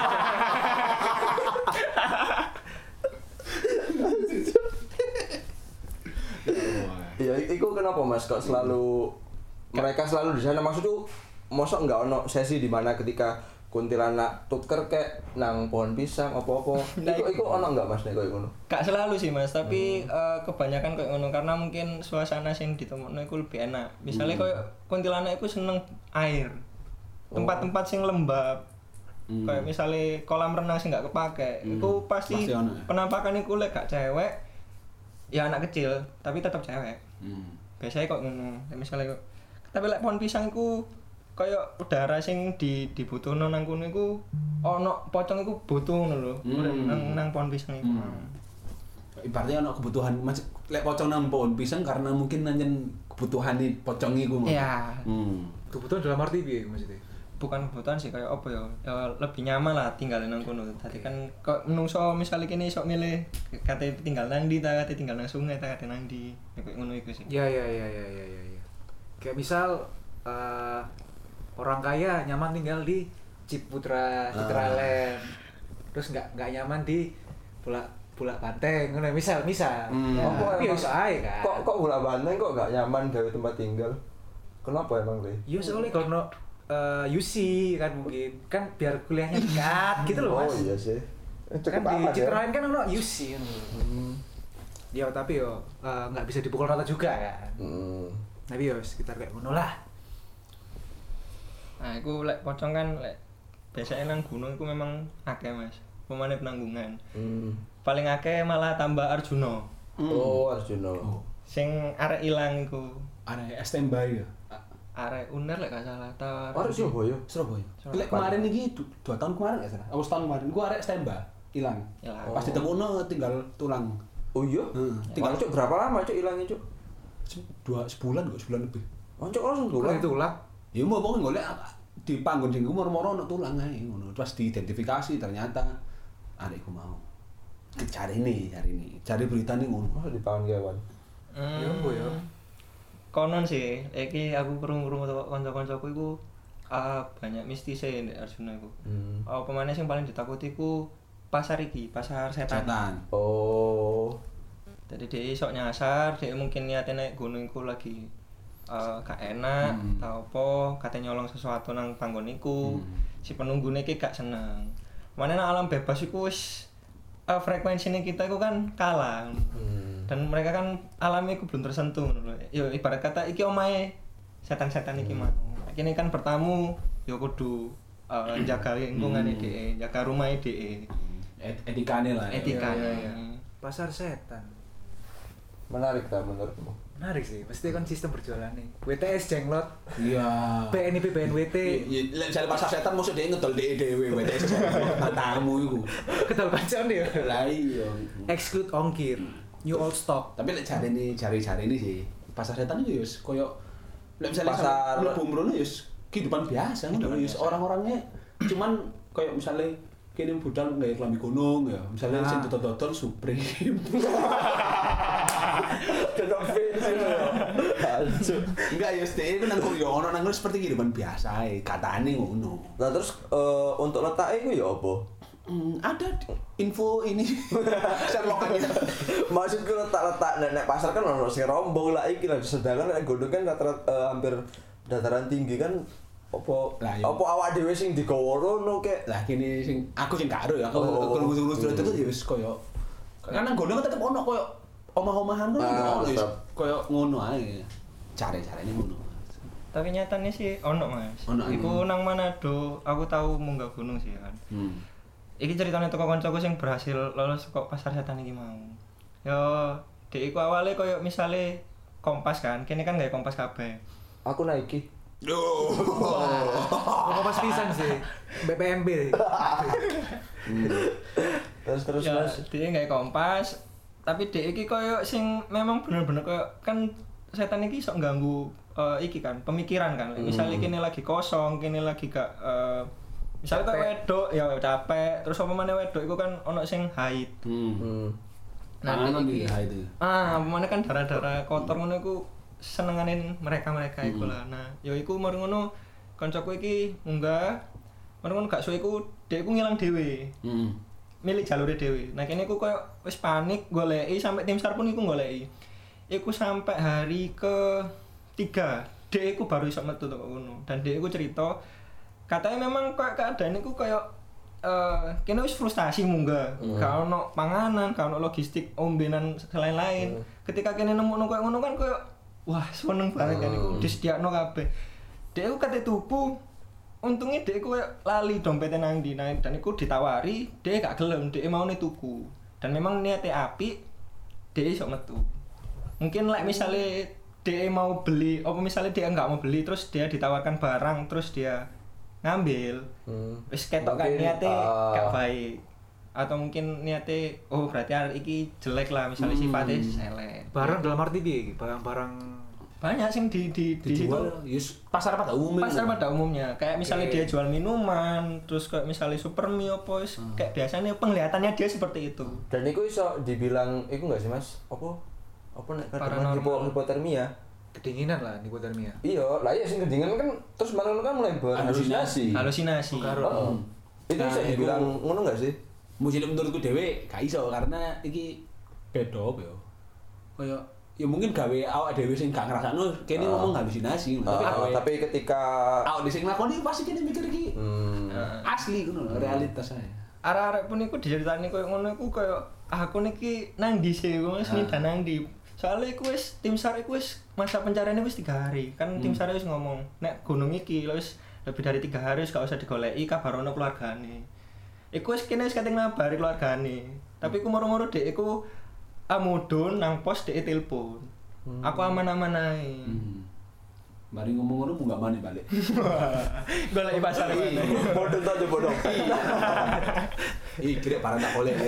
Ya itu kenapa Mas kok selalu mereka selalu di sana maksudku mosok enggak ono sesi di mana ketika kuntilanak tuker kayak nang pohon pisang apa-apa. Nah, Iku iku ono enggak Mas nek koyo ngono? gak selalu sih Mas, tapi eh, kebanyakan kayak ngono karena mungkin suasana sing ditemokno iku lebih enak. Misalnya kayak kuntilanak iku seneng air. Tempat-tempat sing lembab. Kayak misalnya kolam renang sing gak kepake, itu pasti Pasti ono ya? penampakan iku lek gak cewek ya anak kecil, tapi tetap cewek. Hmm. Biasanya kok ngono. Lek Misalnya kok tapi lek pohon pisang iku kaya udara sing di dibutuhno nang kono iku ana pocong iku butuh ngono lho. Hmm. Nang nang pohon pisang iku. Ibaratnya ono kebutuhan mas lek pocong nang pohon pisang karena mungkin nanyen kebutuhane pocong iku. Mas. Iya. Hmm. kebutuhan dalam arti piye maksudnya? Bukan kebutuhan sih kayak apa ya? Ya lebih nyaman lah tinggal nang kono. Tadi kan kok menungso misalnya kene iso milih kate tinggal nang ndi ta kate tinggal nang sungai ta kate nang ndi. Ya kayak ngono iku sih. Ya ya ya ya ya ya. ya. Kayak misal eh, orang kaya nyaman tinggal di Ciputra, Citraland. Terus nggak nggak nyaman di Bulak Bulak Banteng, ngono misal misal. Hmm. Ya, Oh, kok tapi ya emang- iso ae kan. Kok kok bola banteng kok gak nyaman gawe tempat tinggal? Kenapa emang Le? Ya soalnya kalau uh, U C kan mungkin kan biar kuliahnya dekat gitu loh Mas. Oh iya sih. Kan Cukup di aman ya. Citraland kan ono U C kan. Hmm. Ya tapi yo eh, nggak bisa dipukul rata juga kan. Hmm. Tapi yo sekitar kayak ngono lah. Nah, iku lek pocong kan lek biasanya nang gunung iku memang akeh Mas. Pemane penanggungan. Hmm. Paling akeh malah tambah Arjuna. Oh, Arjuna. Oh. Sing arek ilang iku. Ada standby ya. Arek Uner lek gak salah ta. Arek Surabaya. Surabaya. Surabaya. Lek kemarin iki du- dua tahun kemarin enggak salah. Apa setahun kemarin gua arek standby hilang. Ilang. Pas ditemuno tinggal tulang. Oh iya? Heeh. Tinggal cuk berapa lama cuk ilangnya cuk? Se- Dua sebulan kok, sebulan lebih. Oh cuk langsung Tulang tulang. itu lah. Ya mau pokoknya golek di panggon sing moro-moro ono tulang ae ngono. Terus diidentifikasi ternyata adikku mau. Cari ini, cari ini. Cari berita nih ngono. Masa dipangan kewan. Hmm. Ya apa ya? Konon sih, iki aku krungu-krungu teko kanca-kancaku iku ah, banyak mistise ndek Arjuna iku. Hmm. Oh, pemane sing paling ditakuti iku pasar iki, pasar setan. Setan. Oh. Jadi dia sok nyasar, dia mungkin niatnya naik gunung iku lagi uh, gak enak, Hmm. tau apa, katanya nyolong sesuatu nang panggon iku. Hmm. Si penunggune iki gak seneng. Mana nang alam bebas iku wis uh, frekuensinya kita iku kan kalah. Hmm. Dan mereka kan alamnya iku belum tersentuh ngono lho. Yo ibarat kata iki omahe setan-setan iki mah. Kene kan bertamu yo kudu uh, jaga lingkungan Hmm. dhek, jaga rumah dhek. Et- etikane lah. ya. Etika. Iya, iya, iya. Pasar setan. Menarik tak menurutmu? Menarik sih, mesti kan sistem berjualan nih. W T S jenglot, Iya. P N I P B N W T, Ya, lek misalnya pasar setan maksud dia ngedol D E D W W T S tamu iku. kedal kancaan ya. Lah iya. Exclude ongkir, new old stock. Tapi lek jare ini jari-jari ini sih pasar setan itu yus koyo lek misalnya Pasar- mlebu mrono yus kehidupan biasa ngono yus orang-orangnya cuman koyo misalnya kene budal nggawe klambi gunung ya, misalnya Nah. sing dodol-dodol Supreme. Tetap fans itu. Hancur. Enggak yus deh, itu nang yo ono nang seperti kehidupan biasa ae, katane ngono. Nah terus eh, untuk letaknya itu ya apa? Hmm, ada info ini Sherlockannya. Maksudku letak-letak nek nek pasar kan ono sing rombong lah iki lah sedangkan nek gunung kan rata-rata eh, hampir dataran tinggi kan apa Lah, iya. apa awak dhewe sing digawa rono kek. Lah kene sing aku sing karo ya, aku Oh. kelurus-kelurus itu ya wis koyo karena gunung tetep ono koyo omah-omahan kan Ah, ono wis tetep. koyo ngono ae. Care-carane ngono. Tapi nyatanya sih ono Mas. Ono, Iku nang Manado, aku tahu munggah gunung sih kan. Hmm. Iki ceritanya toko koncoku sing berhasil lolos kok pasar setan iki mau. Yo, dek iku awalnya koyo misale kompas kan, kene kan gawe kompas kabeh. Aku naiki. Duh. Kok pas pisan sih, B P M B. Terus terus Ya, Mas. dia gawe kompas, tapi dek iki koyo sing memang bener-bener koyo kan setan iki sok ganggu uh, iki kan pemikiran kan. Hmm. Misalnya kene lagi kosong, kene lagi gak uh, misalnya kayak wedok ya capek, terus apa maneh wedok iku kan ono sing haid. Hmm. Hmm. Nah, Panganan iki- dia itu. Ah, mana kan darah-darah kotor ngono iku senenganin mereka-mereka iku Hmm. lah. Nah, ya iku mari ngono kancaku iki munggah. Mari ngono gak suwe iku dhek iku ngilang dhewe. Hmm. Milih jalure dhewe. Nah, kene iku koyo wis panik goleki sampai tim SAR pun iku goleki. Iku sampai hari ke tiga, dhek iku baru iso metu teko kono. Dan dhek iku cerita katanya memang koyo keadaan iku koyo eh kene wis frustasi munggah, Hmm. gak ono panganan, gak ono logistik ombenan lain-lain. Hmm. Ketika kene nemu koyo ngono kan koyo wah seneng banget kan iku Hmm. disediakno kabeh. Dhek iku kate tuku, untungnya dhek iku koyo lali dompete nang ndi nah, dan iku ditawari, dhek gak gelem, dhek maune tuku. Dan memang niate apik, dhek iso metu. Mungkin lek like, misale dhek mau beli, apa misale dia nggak mau beli terus dia ditawarkan barang terus dia ngambil. Hmm. Wis ketok kan Mungkin, niate ah, gak baik. Atau mungkin niate oh berarti arek iki jelek lah misalnya Hmm. sifatnya elek. Barang dalam arti piye? Barang-barang Banyak sing di di di situ. Dijual yus pasar pada umumnya. Pasar pada umumnya. Kayak misalnya Oke. dia jual minuman, terus kayak misalnya Supermi apa wis Hmm. kayak biasanya penglihatannya dia seperti itu. Dan itu iso dibilang iku enggak sih Mas? Apa? Apa nek kadang Paranormal. hipo hipotermia? kedinginan lah hipotermia. Iya, lah iya sing kedinginan kan terus malah kan mulai berhalusinasi. Halusinasi. Heeh. Itu Nah, bisa iku- dibilang ngono enggak sih? Mesti menurutku dhewe gak iso karena iki beda apa ya. Kaya ya mungkin gawe awak dhewe sing gak ngrasakno kene Ah. ngomong halusinasi tapi Ah, gawe tapi ketika awak dhewe sing nglakoni pasti kene mikir iki hmm, asli ngono lho, realitas ae. Arek-arek pun iku diceritani koyo ngono iku koyo ah, aku niki nang ndi sih wis Ah. nindan nang ndi. Soale iku wis tim SAR iku wis masa pencariannya wis tiga hari. Kan tim Hmm. SAR wis ngomong, nek gunung iki lho wis lebih dari tiga hari wis gak usah digoleki kabar ono keluargane. Iku wis kene wis kate ngabari keluargane. Tapi iku moro-moro dek iku amudun nang pos dek telepon. Aku aman-aman ae. Hmm. Mari ngomong ngono munggah maneh balik. Goleki pasar mana. bodoh tuh aja bodoh. Ih, kira parah tak boleh.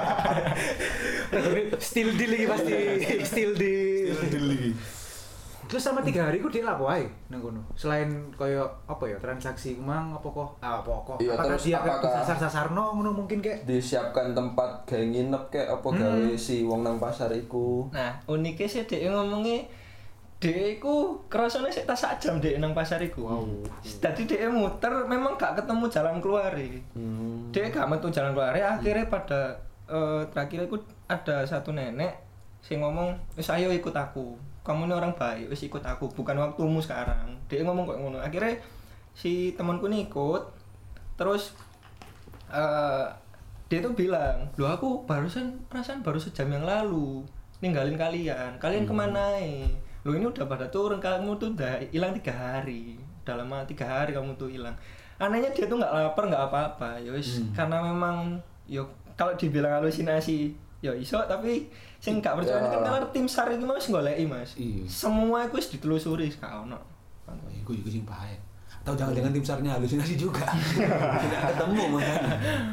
Still deal lagi pasti. Still deal. Terus sama tiga hari ku dia lapo ae nang kono. Selain koyo apa ya transaksi mang apa kok? Ah, apa kok? Iya, Apakah terus dia apakah- sasar-sasarno ngono mungkin kayak Disiapkan tempat gawe nginep kayak apa gawe si wong nang pasar iku. Nah, uniknya sih dek ngomongnya dek iku kerasane sik tas sak jam dek nang pasar iku. Wow. Dadi dek muter memang gak ketemu jalan keluar e. Hmm. Dek gak metu jalan keluar e akhirnya pada eh, terakhir iku ada satu nenek sing ngomong, "Wis ayo ikut aku. Kamu ini orang baik, wis ikut aku, bukan waktumu sekarang." Dek ngomong kok ngono. Akhirnya si temanku nih ikut. Terus eh dia tuh bilang, "Loh aku barusan perasaan baru sejam yang lalu ninggalin kalian. Kalian kemana eh? Loh ini udah pada turun, kamu tuh udah hilang tiga hari. Udah lama tiga hari kamu tuh hilang." Anehnya dia tuh nggak lapar nggak apa-apa, ya wis karena memang yo kalau dibilang halusinasi ya iso tapi sing gak percaya Ya. kan karena tim SAR iki wis goleki Mas. Iya. Semua iku wis ditelusuri gak ono. Iku iku sing bahaya. Atau jangan-jangan tim SAR-nya halusinasi juga. Tidak ketemu makanya.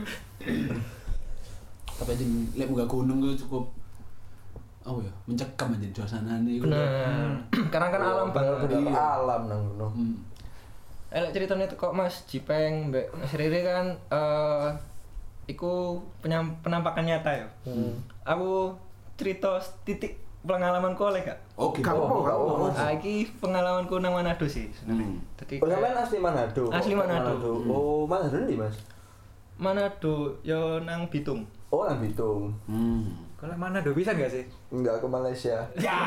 Tapi aja lek munggah gunung ku cukup oh ya, mencekam aja suasanane iku. Bener. Karena kan alam banget. Bener-bener Iya. alam nang ngono. Hmm. Elek ceritanya tuh kok Mas Jipeng, Mbak Mas Riri kan eh iku penyam- penampakan nyata ya. Hmm. Aku cerita titik pengalamanku oleh gak? Oke. Kamu apa, kamu apa? Ah, iki pengalamanku nang Manado sih sebenarnya. Hmm. Jadi Oh, sampean kayak- asli Manado. Asli Manado. Oh, Manado ndi, Mas? Manado yo nang Bitung. Oh, nang Bitung. Hmm. kalau mana do bisa enggak sih? Enggak ke Malaysia.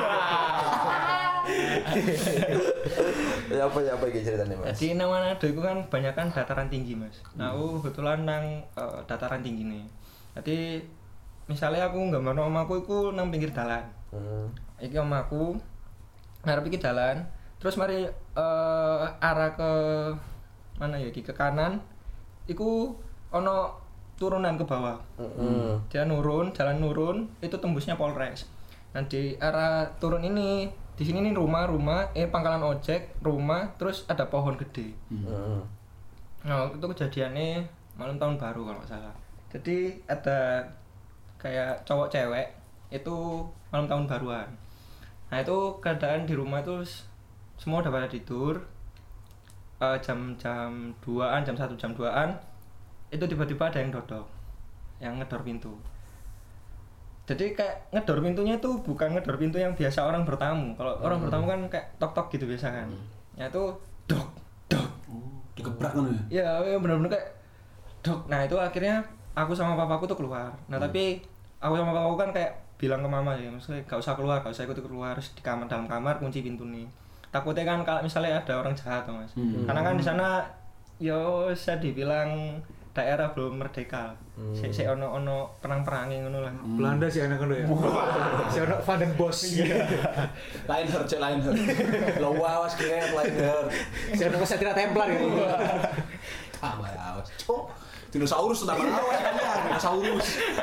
Ya apa ya apa iki ceritanya, Mas? Jadi nang Manado itu kan banyak kan dataran tinggi Mas. Nah, aku kebetulan nang eh, dataran tinggi nih. Jadi misalnya aku nggak mau omaku itu nang pinggir dalan. Hmm. Iki omaku ngarep iki dalan. Terus mari eh, arah ke mana ya iki ke kanan. Iku ono turunan ke bawah. Heeh. Dia nurun, jalan nurun, itu tembusnya Polres. Nah di arah turun ini, di sini nih rumah-rumah, eh pangkalan ojek, rumah, terus ada pohon gede. Heeh. Nah itu kejadiannya malam tahun baru kalau nggak salah. Jadi ada kayak cowok cewek itu malam tahun baruan. Nah itu keadaan di rumah itu semua udah pada tidur, uh, jam-jam duaan, jam satu, jam duaan itu tiba-tiba ada yang dodok, yang ngedor pintu. Jadi kayak ngedor pintunya itu bukan ngedor pintu yang biasa orang bertamu. Kalau hmm. orang bertamu kan kayak tok-tok gitu biasa kan. Hmm. Ya itu dok, dok. Oh, digebrak kan ya? Iya, benar-benar kayak dok. Nah itu akhirnya aku sama papaku tuh keluar. Nah hmm. tapi aku sama papaku kan kayak bilang ke mama ya, maksudnya gak usah keluar, gak usah ikut keluar, harus di kamar, dalam kamar kunci pintu nih. Takutnya kan kalau misalnya ada orang jahat tuh mas, hmm. karena kan di sana yo saya dibilang daerah belum merdeka, hmm. si si ono ono perang perangin ngono lah. Hmm. Belanda sih anak ngono ya. Si ono Van den Bosch. Lain her, cek lain her. Lo wawas kira lain her. Si ono Kesatria Templar ya. Ah, wawas. Cok. Dinosaurus utama awas kan ya, dinosaurus.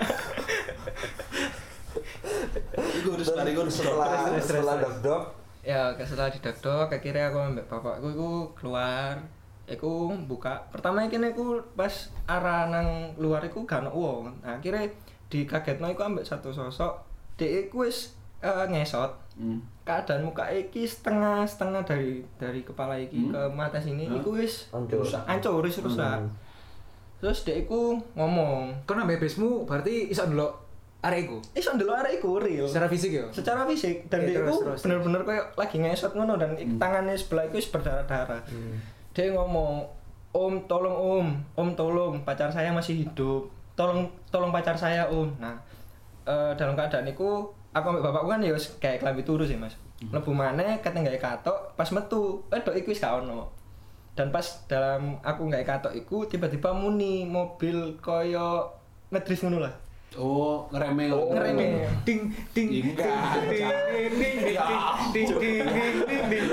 Iku harus lari gue setelah setelah dok-dok. Ya, setelah didok-dok, akhirnya aku ambek bapakku iku keluar. Iku buka. Pertama iki aku pas arah nang luar iku gak ono wong. Nah, akhirnya dikagetno iku ambek satu sosok. Dek iku wis uh, ngesot. Hmm. Keadaan muka iki setengah-setengah dari dari kepala iki hmm. ke mata sini hmm. iku wis rusak, hancur, wis rusak. Hmm. Terus dek iku ngomong, "Kon ambek besmu berarti iso ndelok arek iku?" Iso ndelok arek iku real. Secara fisik ya? Secara fisik dan dek iku bener-bener koyo lagi ngesot ngono dan hmm. tangannya sebelah iku wis berdarah-darah. Hmm. Dia ngomong, "Om, tolong Om, Om tolong, pacar saya masih hidup. Tolong tolong pacar saya, Om." Nah, uh, dalam keadaan iku aku ambek bapakku kan ya wis kayak klambi turu sih, Mas. Mlebu maneh keteng gawe katok, pas metu, wedok iku wis gak ono. Dan pas dalam aku gawe katok iku tiba-tiba muni mobil koyo ngedrift ngono lah. Oh, ngereme. Oh, ngereme. Ding ding ding ding ding ding ding ding ding.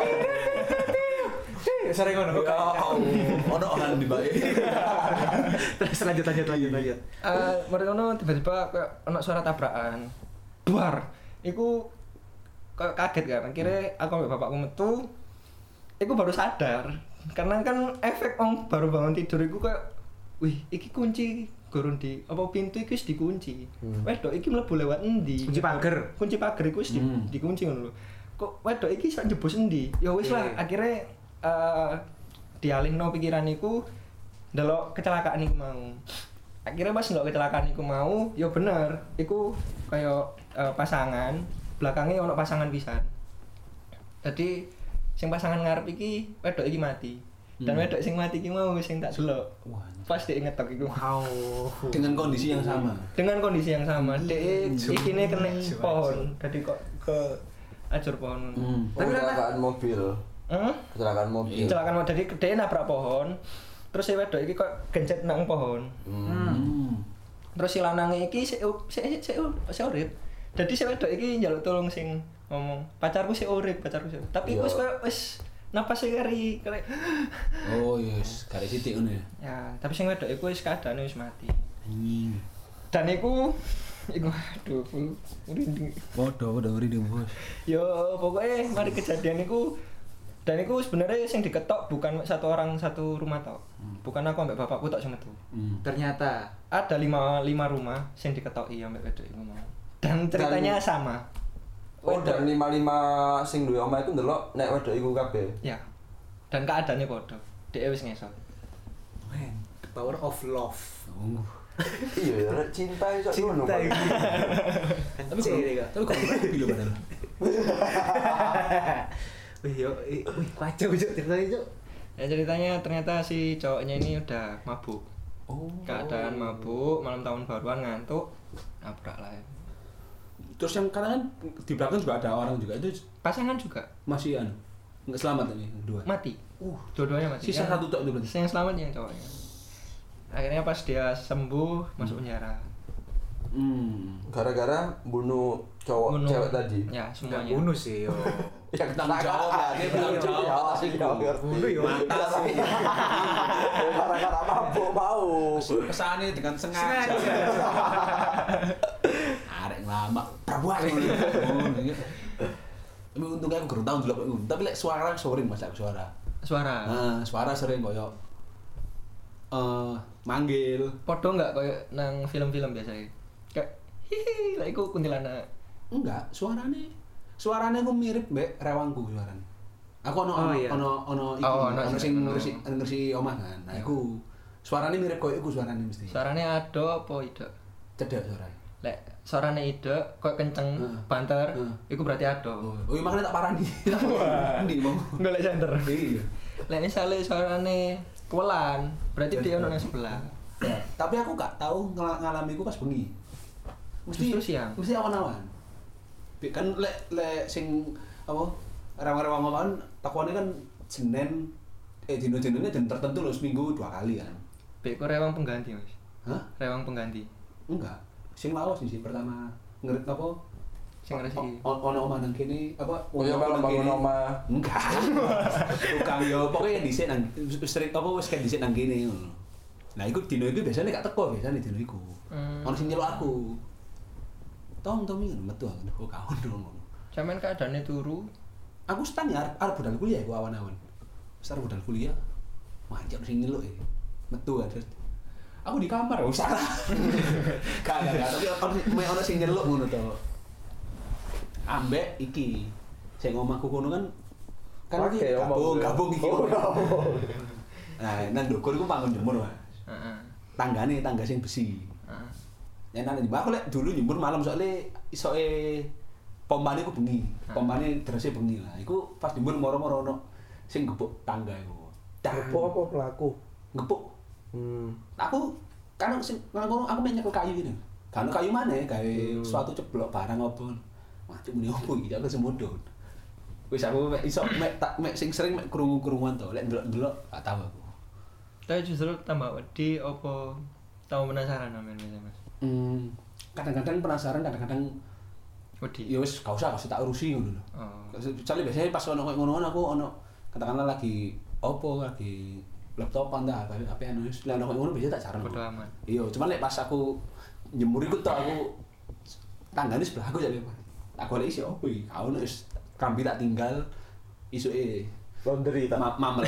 Sering ngono. Ono orang di bae. Terus lanjut lanjut lanjut lanjut. Eh, mereka ngono tiba-tiba kayak ono suara tabrakan. Duar. Iku kayak kaget kan. Akhirnya aku ambek bapakku metu. Iku baru sadar. Karena kan efek om baru bangun tidur iku kayak wih, iki kunci gurun di apa pintu iki wis dikunci. Hmm. Wedok iki mlebu lewat endi? Kunci pagar. Kunci pagar iku wis di, hmm. dikunci ngono lho. Kok wedok iki iso njebus endi? Ya wis lah, akhirnya uh, dialihno pikiran iku ndelok kecelakaan iku mau. Akhirnya pas ndelok kecelakaan iku mau, ya bener, iku kaya uh, pasangan, belakangnya ono pasangan pisan. Jadi sing pasangan ngarep iki wedok iki mati. Dan hmm. wedok sing mati iki mau sing tak delok. Pas dhek ngetok iku. Wow. Dengan kondisi yang sama. Dengan kondisi yang sama. Dhek ikine kena pohon. Dadi kok ke ajur pohon. Hmm. Tapi kecelakaan mobil. Heeh? Kecelakaan mobil. Kecelakaan mobil. Dadi dhek nabrak pohon. Terus si wedok iki kok gencet nang pohon. Hmm. Terus si lanange iki sik sik sik sik urip. Dadi si wedok iki njaluk tolong sing ngomong, "Pacarku sik urip, pacarku sik." Tapi wis koyo wis napase kari kare. Oh, yes, kare sithik ngono ya. Ya, tapi sing wedok iku wis keadaane wis mati. Anjing. Dan iku iku aduh, merinding. Waduh, udah merinding, Bos. Yo, pokoknya mari kejadian iku dan iku sebenarnya sing diketok bukan satu orang satu rumah tok. Hmm. Bukan aku ambek bapakku tok sing metu. Hmm. Ternyata ada lima lima rumah sing diketoki ambek wedok iku mau. Dan ceritanya dan, sama. Oh, dan lima lima sing duwe omah itu ndelok nek wedok iku kabeh. Ya. Dan keadaannya padha. Dhek wis ngesot. Man, the power of love. Uh. Iya, ya, cinta iso ngono. Cinta iki. Tapi kok tapi kok lebih lho padahal. Wih, yo, wih, kacau Cuk, ceritanya Cuk. Ya ceritanya ternyata si cowoknya ini udah mabuk. Oh. Keadaan mabuk, malam tahun baruan ngantuk, nabrak lah. Terus yang kadang kan di belakang juga ada orang juga itu pasangan juga masih anu nggak selamat ini dua mati. Uh, dua-duanya mati. Sisa yang, satu tok itu berarti. Yang selamat yang cowoknya. Akhirnya pas dia sembuh hmm. masuk penjara. Hmm. Gara-gara bunuh cowok bunuh. Cewek tadi. Ya, semuanya. Nggak bunuh sih, yo. Yang tanggung jawab lah, dia tanggung jawab sih jawab. Bunuh yo. Mantap sih. Gara-gara mabuk mau. Kesane dengan sengaja. Arek lama prabuan. Tapi untungnya aku gerung tahun dulu. Tapi lek suara sering Mas aku suara. Suara. Nah, suara sering koyo eh manggil. Podo enggak koyo nang film-film biasa iki. Kayak hihi lek iku kuntilanak. Enggak, suarane suarane ku mirip mbek rewangku suarane. Aku ono Oh, ono iya. ono ono iki, Oh, ono ono sing- sing ngresi ngresi omah kan. Nah, iku suarane mirip koyo iku suarane mesti. Suarane ado apa idek? Cedek suarane. Lek suarane idek kok kenceng, Heeh. banter, Heeh. iku berarti ado. Oh, iya makanya tak parani. Endi mau? Golek center. Iya. Lek misale suarane kewelan, berarti dia ono nang sebelah. Tapi aku gak tahu ngala- ngalami iku pas bengi. Mesti Justru siang. Mesti awan-awan. Bi- Kan lek lek sing apa? Rewang-rewang awan takwane kan Senin eh dino-dinone den tertentu lho seminggu dua kali kan. Bek kok rewang pengganti, Mas. Hah? Rewang pengganti. Enggak. Sing lawas sih pertama ngerit apa? Sing resiki. O- Ono omah nang kene apa? Oh ya kalau bangun omah. Enggak. Tukang yo pokoknya dhisik nang sering apa wis kan dhisik nang kene ngono. Nah, iku dino iku biasanya gak teko biasanya dino iku. Hmm. Ono sing nyeluk aku. Tom Tom iki metu aku kok kaon ngono. Sampeyan keadaane turu, Aku stan ya arep arep budal kuliah aku awan-awan. Wis arep budal kuliah. Manjak sing nyeluk e. Metu kan. Aku di kamar oh salah. Gak gak gak, tapi ono me ono sing nyeluk ngono to. Ambek iki sing omahku kono kan kan Oke, iki omong gabung gue. gabung iki. Oh, gabung. Nah, nang ndukur iku panggon jemur, Mas. heeh. Tanggane tangga sing besi. Heeh. Ya nang mbak aku lek dulu nyembur malam soalnya isoke pompane ku bengi. Pompane derese bengi lah. Iku pas nyembur moro-moro ono sing gepuk tangga iku. Apa apa pelaku? Gepuk. Hmm. Aku kan sing nang kono aku mek nyekel kayu gini. Kan kayu maneh gawe suatu ceblok barang apa. Macam muni opo iki aku semodho. Wis aku mek iso mek tak mek sing sering mek krungu-krunguan to. Lek ndelok-ndelok gak tahu aku. Tapi justru tambah wedi apa tahu penasaran amen Mas. Hmm, kadang-kadang penasaran, kadang-kadang Wedi. ya wis gak usah, gak usah tak urusi ngono lho. Oh. Soalnya biasanya pas ono koyo ngono aku ono katakanlah lagi opo lagi laptopan dah tapi H P-an wis lek ono koyo ngono biasanya tak jarno. Bodo amat. Iya, cuman lek pas aku njemur iku tok aku tanggane sebelah aku jane. Tak golek isi opo iki? Gak ono wis kambi tak tinggal isuke Laundry tak. ma mamel.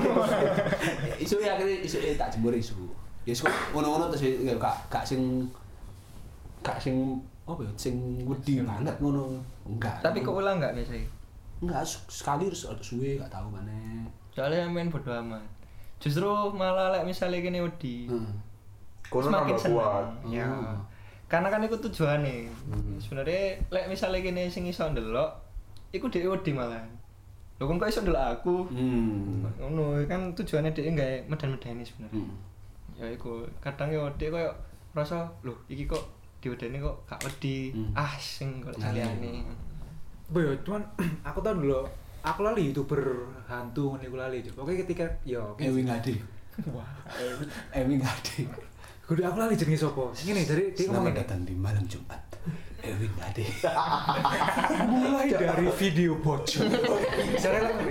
Isuke akhirnya isuke tak jemur isu. Ya kok ngono-ngono terus ya gak gak sing gak sing apa ya sing wedi banget ngono. Enggak. Tapi kok ulang enggak biasanya? enggak sekali terus ada suwe gak tahu mana. Soalnya main bodo amat. Justru malah lek misalnya kene wedi. Heeh. Kono semakin tambah kuat. seneng. Ya. Hmm. Karena kan iku tujuane. Sebenarnya lek misalnya kene sing iso ndelok, iku dhewe wedi malah. Lho kon kok iso ndelok aku? Hmm. Ngono kan tujuane dhewe gawe medan-medani sebenarnya. Hmm. Ya iku kadang yo dhek koyo rasa lho iki kok diwedeni kok gak wedi. Hmm. Ah sing kok Nah, liyane. Boy, cuman aku tahu dulu, aku lali youtuber hantu nih aku lali. Oke ketika yo, Ewi ngade. Wah. Ewi ngade. kudu aku lali jenenge sapa? Ngene dari dia ngomong Selamat ini. datang di malam Jumat. Ewi ngade. Mulai dari video bocor. Cara lagi.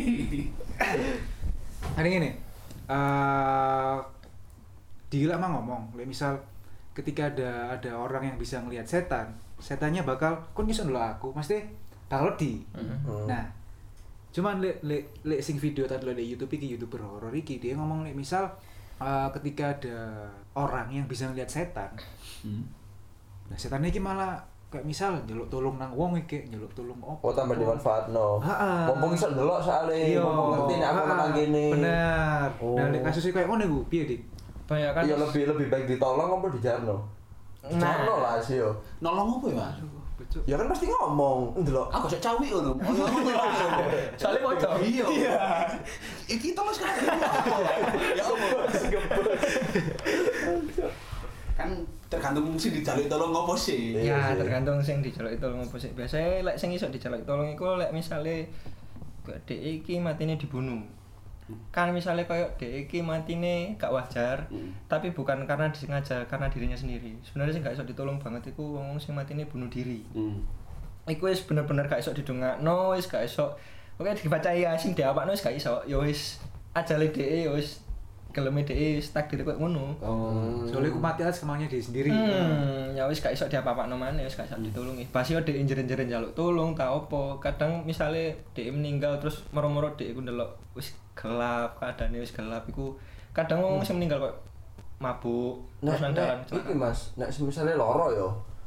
Ada gini. Eh Dila mah ngomong, lek misal ketika ada ada orang yang bisa ngelihat setan, setannya bakal kon iso ndelok aku, mesti bakal di. Hmm. Nah, cuman lek lek lek sing video tadi lek YouTube iki YouTuber horor iki dia ngomong lek misal uh, ketika ada orang yang bisa ngelihat setan. Hmm. Nah, setannya iki malah kayak misal njaluk tolong nang wong iki, njaluk tolong opo. Oh tambah dimanfaatno. Heeh. Mumpung iso ndelok soalé, Iya. mumpung ngerti nek aku Ha-ha. nang kene. Bener. Oh. Nah, lek kasusnya kayak ngono iku piye, Dik? Banyak kan. Iya lebih lebih baik ditolong apa dijarno? Dijarno lah sih yo. Nolong apa ya, Mas? Bocok. Ya kan pasti ngomong, ndelok. Aku sok cawi ngono. Soalnya bocor. Iya. Iki tolong sekali. Ya Allah. Kan tergantung sing dijaluk tolong ngopo sih. Iya Ya sih. tergantung sing dijaluk tolong apa sih. Biasanya lek sing iso dijaluk tolong iku lek misale kok dhek iki matine dibunuh. Kan misalnya kayak dhek iki matine gak wajar, Hmm. tapi bukan karena disengaja, karena dirinya sendiri. Sebenarnya sing gak iso ditolong banget iku wong sing matine bunuh diri. Hmm. Iku wis bener-bener gak iso didongakno, wis gak iso. Oke dibacai Yasin diapakno wis gak iso. Ya wis ajale dhek ya wis geleme dhek wis takdir koyo ngono. Oh. Soalnya aku mati atas kemauannya dia sendiri. Hmm, ya wis gak iso diapa-apakno maneh, wis gak iso ditulungi. Pas yo dhek injer-injer njaluk tulung ta opo. Kadang misale dhek meninggal terus moro-moro dhek iku ndelok wis gelap, keadaane wis gelap iku kadang wong sing meninggal kok mabuk Nek terus nang dalan nek iki Mas, nek misalnya loro yo.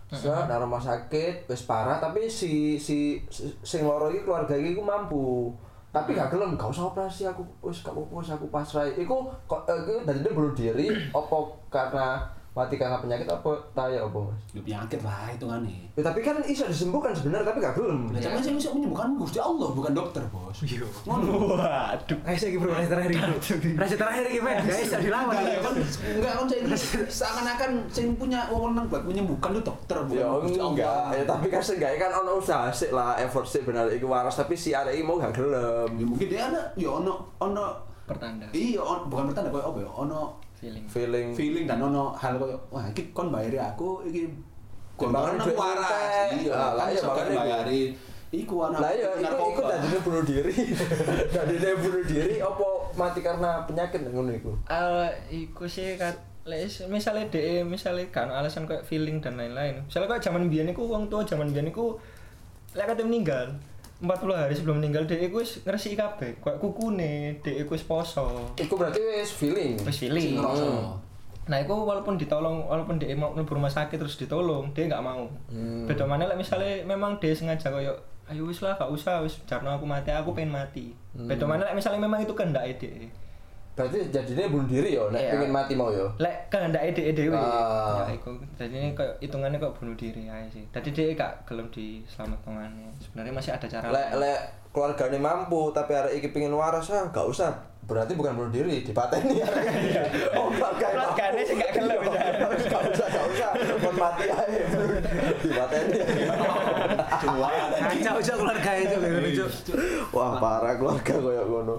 Sa nang rumah sakit wis parah tapi si si si- sing loro iki keluarga iki ku mampu. Tapi gak gelem, gak usah operasi aku wis gak apa-apa wis aku pasrah. Iku kok eh, iku dadine bunuh diri apa karena mati karena penyakit apa taya apa Mas? Lu penyakit lah hitungane. Ya, tapi kan iso disembuhkan sebenarnya tapi gak gelem. Lah sampeyan sing iso menyembuhkan Gusti Allah bukan dokter, Bos. Iya. Ngono. Waduh. Ayo saya bro, rasa terakhir iki. Rasa terakhir iki, men. Guys, bisa dilawan. Enggak kan enggak kan saya seakan-akan sing punya wewenang buat menyembuhkan itu dokter bukan Ya Gusti enggak, Allah. ya, tapi kan seenggaknya kan ono usaha sik lah effort sik bener iku waras tapi si arek iki mau gak gelem. Ya mungkin dia ada ya ono ono Pertanda. iya on, bukan bertanda koyo apa ya ono Feeling. Feeling feeling dan ono hal koyo wah iki kon bayari aku iki kon Timbangan bayari aku duit waras entek. iya Ah, lah kan iya, iso kan makanya bayari iku anak lah ya iku iku narkoba. dadine bunuh diri. Dadine bunuh diri apa mati karena penyakit ngono iku. Eh, iku sih kat lek misalnya de misalnya kan alasan kayak feeling dan lain-lain. Misalnya kayak zaman biyen iku wong tua zaman biyen iku lek kate meninggal empat puluh hari sebelum meninggal dhek iku wis ngresiki kabeh, kayak kukune, dhek iku wis poso. Iku berarti wis feeling. Wis feeling. Ngerasa. Nah, itu walaupun ditolong, walaupun dia mau mlebu rumah sakit terus ditolong, dia nggak mau. Hmm. Beda mana lek misalnya memang dia sengaja koyo ayo wis lah gak usah wis jarno aku mati, aku pengen mati. Beda mana lek misalnya memang itu kehendake dhek. Berarti jadinya bunuh diri ya nek Iya. pengen mati mau ya. Lek kehendake dhek dhewe. Ah. Ya iku. Jadi ini koyo hitungannya kok bunuh diri aja sih. Tadi dia gak gelem diselamatkan. Sebenarnya masih ada cara Lek lain. lek keluargane mampu tapi arek iki pengen waras ah gak usah. Berarti bukan bunuh diri, dipateni arek. Oh, keluargane. Keluargane sih gak gelem ya. Gak usah, gak usah. Kon mati ae. Dipateni. Kacau aja keluarga itu ngono, Cuk. Wah, parah keluarga koyo ngono.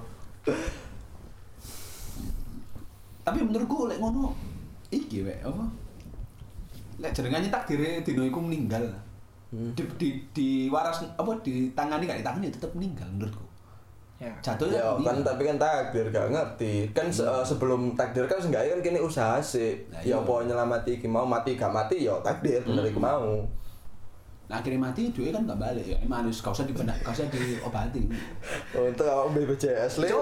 Tapi menurutku lek ngono iki wek apa? Lek jenengane takdire dino iku meninggal. Hmm. Di, di, di waras apa ditangani gak ditangani ya tetep meninggal menurutku. Ya. Jatuhnya Ya kan tapi kan takdir gak ngerti. Kan se- eh, sebelum takdir kan seenggaknya kan kini usaha sih. Nah, Ya iya. apa nyelamati iki mau mati gak mati ya takdir bener iku mau. Nah akhirnya mati duit kan gak balik ya. Emang harus gak usah dibenak, gak usah diobati. Oh, itu awak B P J S le.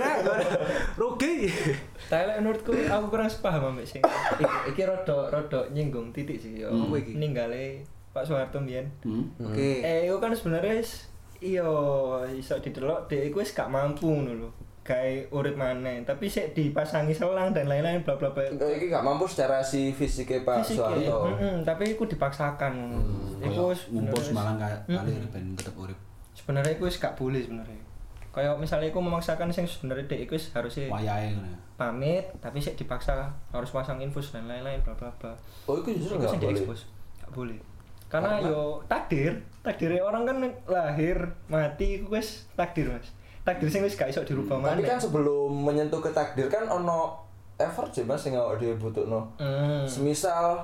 Rugi. Tapi lek menurutku aku kurang sepaham ambek sing iki iki rada rada nyinggung titik sih yo. Hmm. Apa iki? Ninggale Pak Soeharto mbiyen. Hmm. Oke. Eh, itu kan sebenarnya wis iya iso didelok dhek iku wis gak mampu ngono lho. Gawe urip maneh, tapi sik dipasangi selang dan lain-lain bla bla bla. Oh, iki gak mampu secara si fisiknya Pak Fisik, Soeharto. heeh, tapi iku dipaksakan ngono. Iku wis ngumpul sebenarnya Malang wis- kali Mm-mm. ben tetep urip. Sebenarnya iku wis gak boleh sebenarnya. Kayak misalnya iku memaksakan sing sebenarnya dhek iku wis harusnya Wayahe ngono ya. pamit, tapi sik dipaksa harus pasang infus dan lain-lain bla bla bla. Oh, itu justru Iku gak sing boleh. diekspos. Gak boleh. Karena yo takdir, takdirnya orang kan lahir, mati iku wis takdir, Mas. Takdir sing wis gak iso dirubah Tapi maneh. kan sebelum menyentuh ke takdir kan ono effort sih Mas sing awak dhewe butuhno. Hmm. Semisal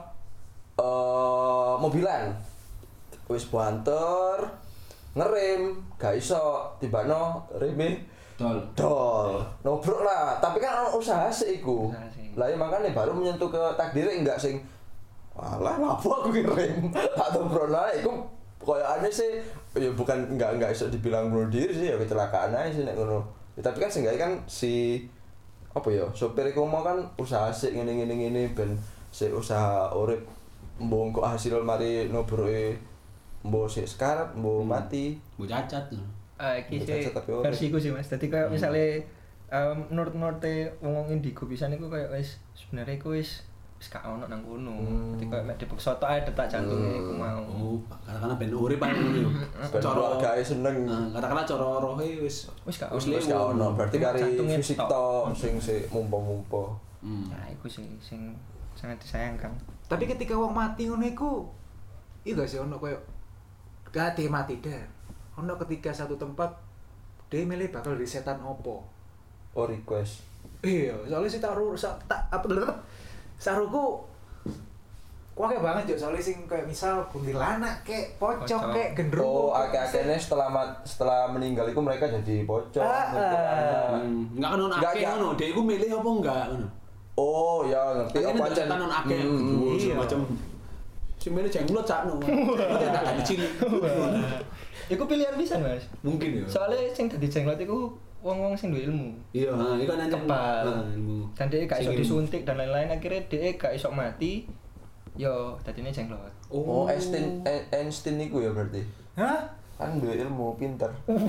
eh mobilan wis banter ngerem gak iso tibano reme Dol. dol nobrok lah tapi kan ono usaha sih iku Usaha sih. lah ya makanya baru menyentuh ke takdirnya enggak sing walah lapo aku ngerem tak nobrok lah iku koyo aneh sih ya bukan enggak enggak iso dibilang bunuh diri sih ya kecelakaan aja sih nek ngono ya, tapi kan seenggaknya kan si apa ya sopir iku mau kan usaha sih ngene ngene ngene ben si usaha urip mbok kok hasil mari nobroke mbok sik sekarat mbok mati Bu cacat. lho. Ah, iki Cacat sih tapi ora. versiku sih Mas. Dadi kayak misalnya um, menurut-menurut wong indigo pisan iku kayak wis sebenarnya iku wis wis gak ono nang kono. Dadi kayak mek dipeksa tok ae detak jantunge iku mau. Oh, katakanlah ben urip ae ngono yo. ben keluargae seneng Nah, katakanlah cara rohe wis Wis gak wis ono. wis gak ono berarti Cuma kari jantungnya fisik tok. tok sing sik mumpo-mumpo. Hmm. Nah, iku sih sing sangat disayangkan. Tapi ketika wong mati ngono iku iya gak sih ono koyo gati mati dah. Ono ketika satu tempat dia milih bakal di setan opo. Oh request. Iya, soalnya sih tak ru sa- tak apa dulu saruku kuake banget yo soalnya sing kayak misal kuntilanak kek pocong Pocong. kek gendruwo. Oh, akeh-akehne setelah mat, setelah meninggal itu mereka jadi pocong. Ah, ah. Hmm, enggak kan ono Enggak, akeh enggak. ngono, dhek iku milih apa enggak ngono. Oh, ya ngerti Akhirnya apa ndak aja. setan ono akeh Hmm, gitu iya. semacam sing milih jenglot sakno. Tidak tak dicilik. Iku pilihan bisa, Mas. Mungkin ya. Soalnya sing dadi jenglot iku wong-wong sing duwe ilmu. Iya, nah, iku kan anjing Kebal. Nah, ilmu. Dan dia gak iso Sing ilmu. disuntik dan lain-lain akhirnya dia gak iso mati. Yo, dadine jenglot. Oh, Einstein E- Einstein iku ya berarti. Hah? Kan duwe ilmu pinter.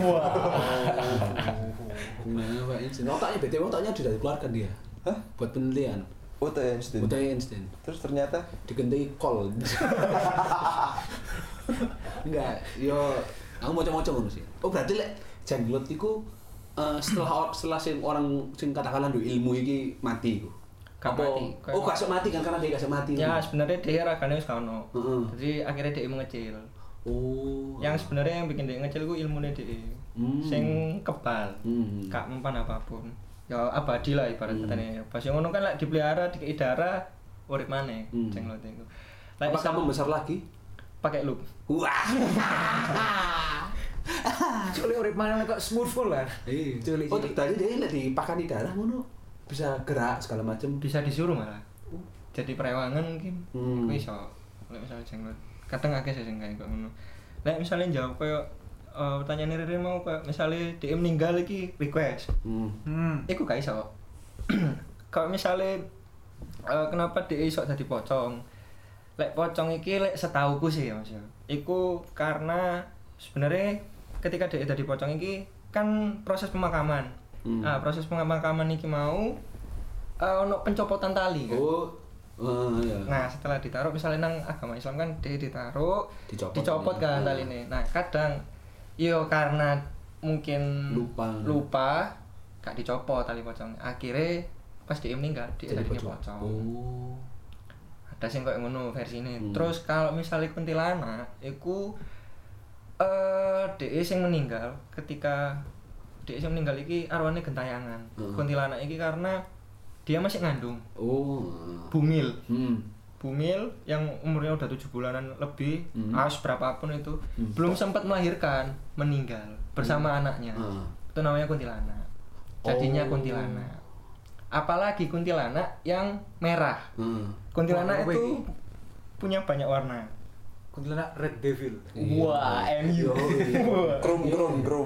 Nah, Pak Einstein. Otaknya B T W otaknya sudah dikeluarkan dia. Hah? Buat penelitian. Oh, tuh Einstein. Otak Einstein. Terus ternyata Diganti kol. Enggak, yo aku mau-mau ngono sih. Oh, berarti lek jenglot iku eh, setelah setelah sing orang sing katakanlah duwe ilmu iki mati iku. Gak Apa- mati. Kayak- Oh, gak iso mati kan karena dia gak iso mati. Ya sebenarnya dia ragane wis ono. Heeh. Jadi akhirnya dia mengecil. Oh. Yang sebenarnya yang bikin dia ngecil ku ilmune dia. Hmm. Sing kebal. Hmm. Gak mempan apapun. Ya abadi lah ibarat Hmm. katanya. Pas yang ngono kan lek dipelihara dikei darah urip maneh Hmm. jenglot iku. Lek Apa isam- kamu besar lagi? pakai loop. Wah. Culi urip mana kok smooth full kan? Iya. Culi. Oh, tadi dia lek dipakani darah ngono bisa gerak segala macam. Bisa disuruh malah. Jadi perewangan mungkin. Hmm. Iku iso. Lek misalnya jenglot. Kadang akeh sih sing kayak ngono. Lek misalnya jawab koyo eh, pertanyaan Riri mau kayak misalnya dia meninggal iki request. Hmm. Hmm. Iku gak iso. Kalau misalnya eh, kenapa dia iso dadi pocong? Lek pocong iki lek setauku sih ya Mas ya. Iku karena sebenarnya ketika dia dadi pocong iki kan proses pemakaman. Hmm. Ah, proses pemakaman iki mau eh, ono pencopotan tali kan. Oh. Oh, iya. Nah, setelah ditaruh misalnya nang agama Islam kan dia ditaruh Dicopot. dicopot kan Hmm. taline. Nah, kadang yo karena mungkin Lupa. lupa gak dicopot tali pocong. Akhirnya pas dia meninggal dia Jadi jadinya pocong. pocong. Oh. Ada sing koyo ngono versine. Hmm. Terus kalau misalnya kuntilanak iku eh dhek sing meninggal ketika dhek sing meninggal iki arwane gentayangan. Hmm. Kuntilanak iki karena dia masih ngandung Oh. bumil. Hmm. Bumil yang umurnya udah tujuh bulanan lebih, Hmm. as berapapun itu, Hmm. belum sempat melahirkan, meninggal bersama anaknya. Ah. Itu namanya kuntilanak. Jadinya Oh. kuntilanak. Apalagi kuntilanak yang merah. Hmm. Kuntilanak Wah, apa itu ini? punya banyak warna. Kuntilanak Red Devil. Wah, M U. krum krum krum.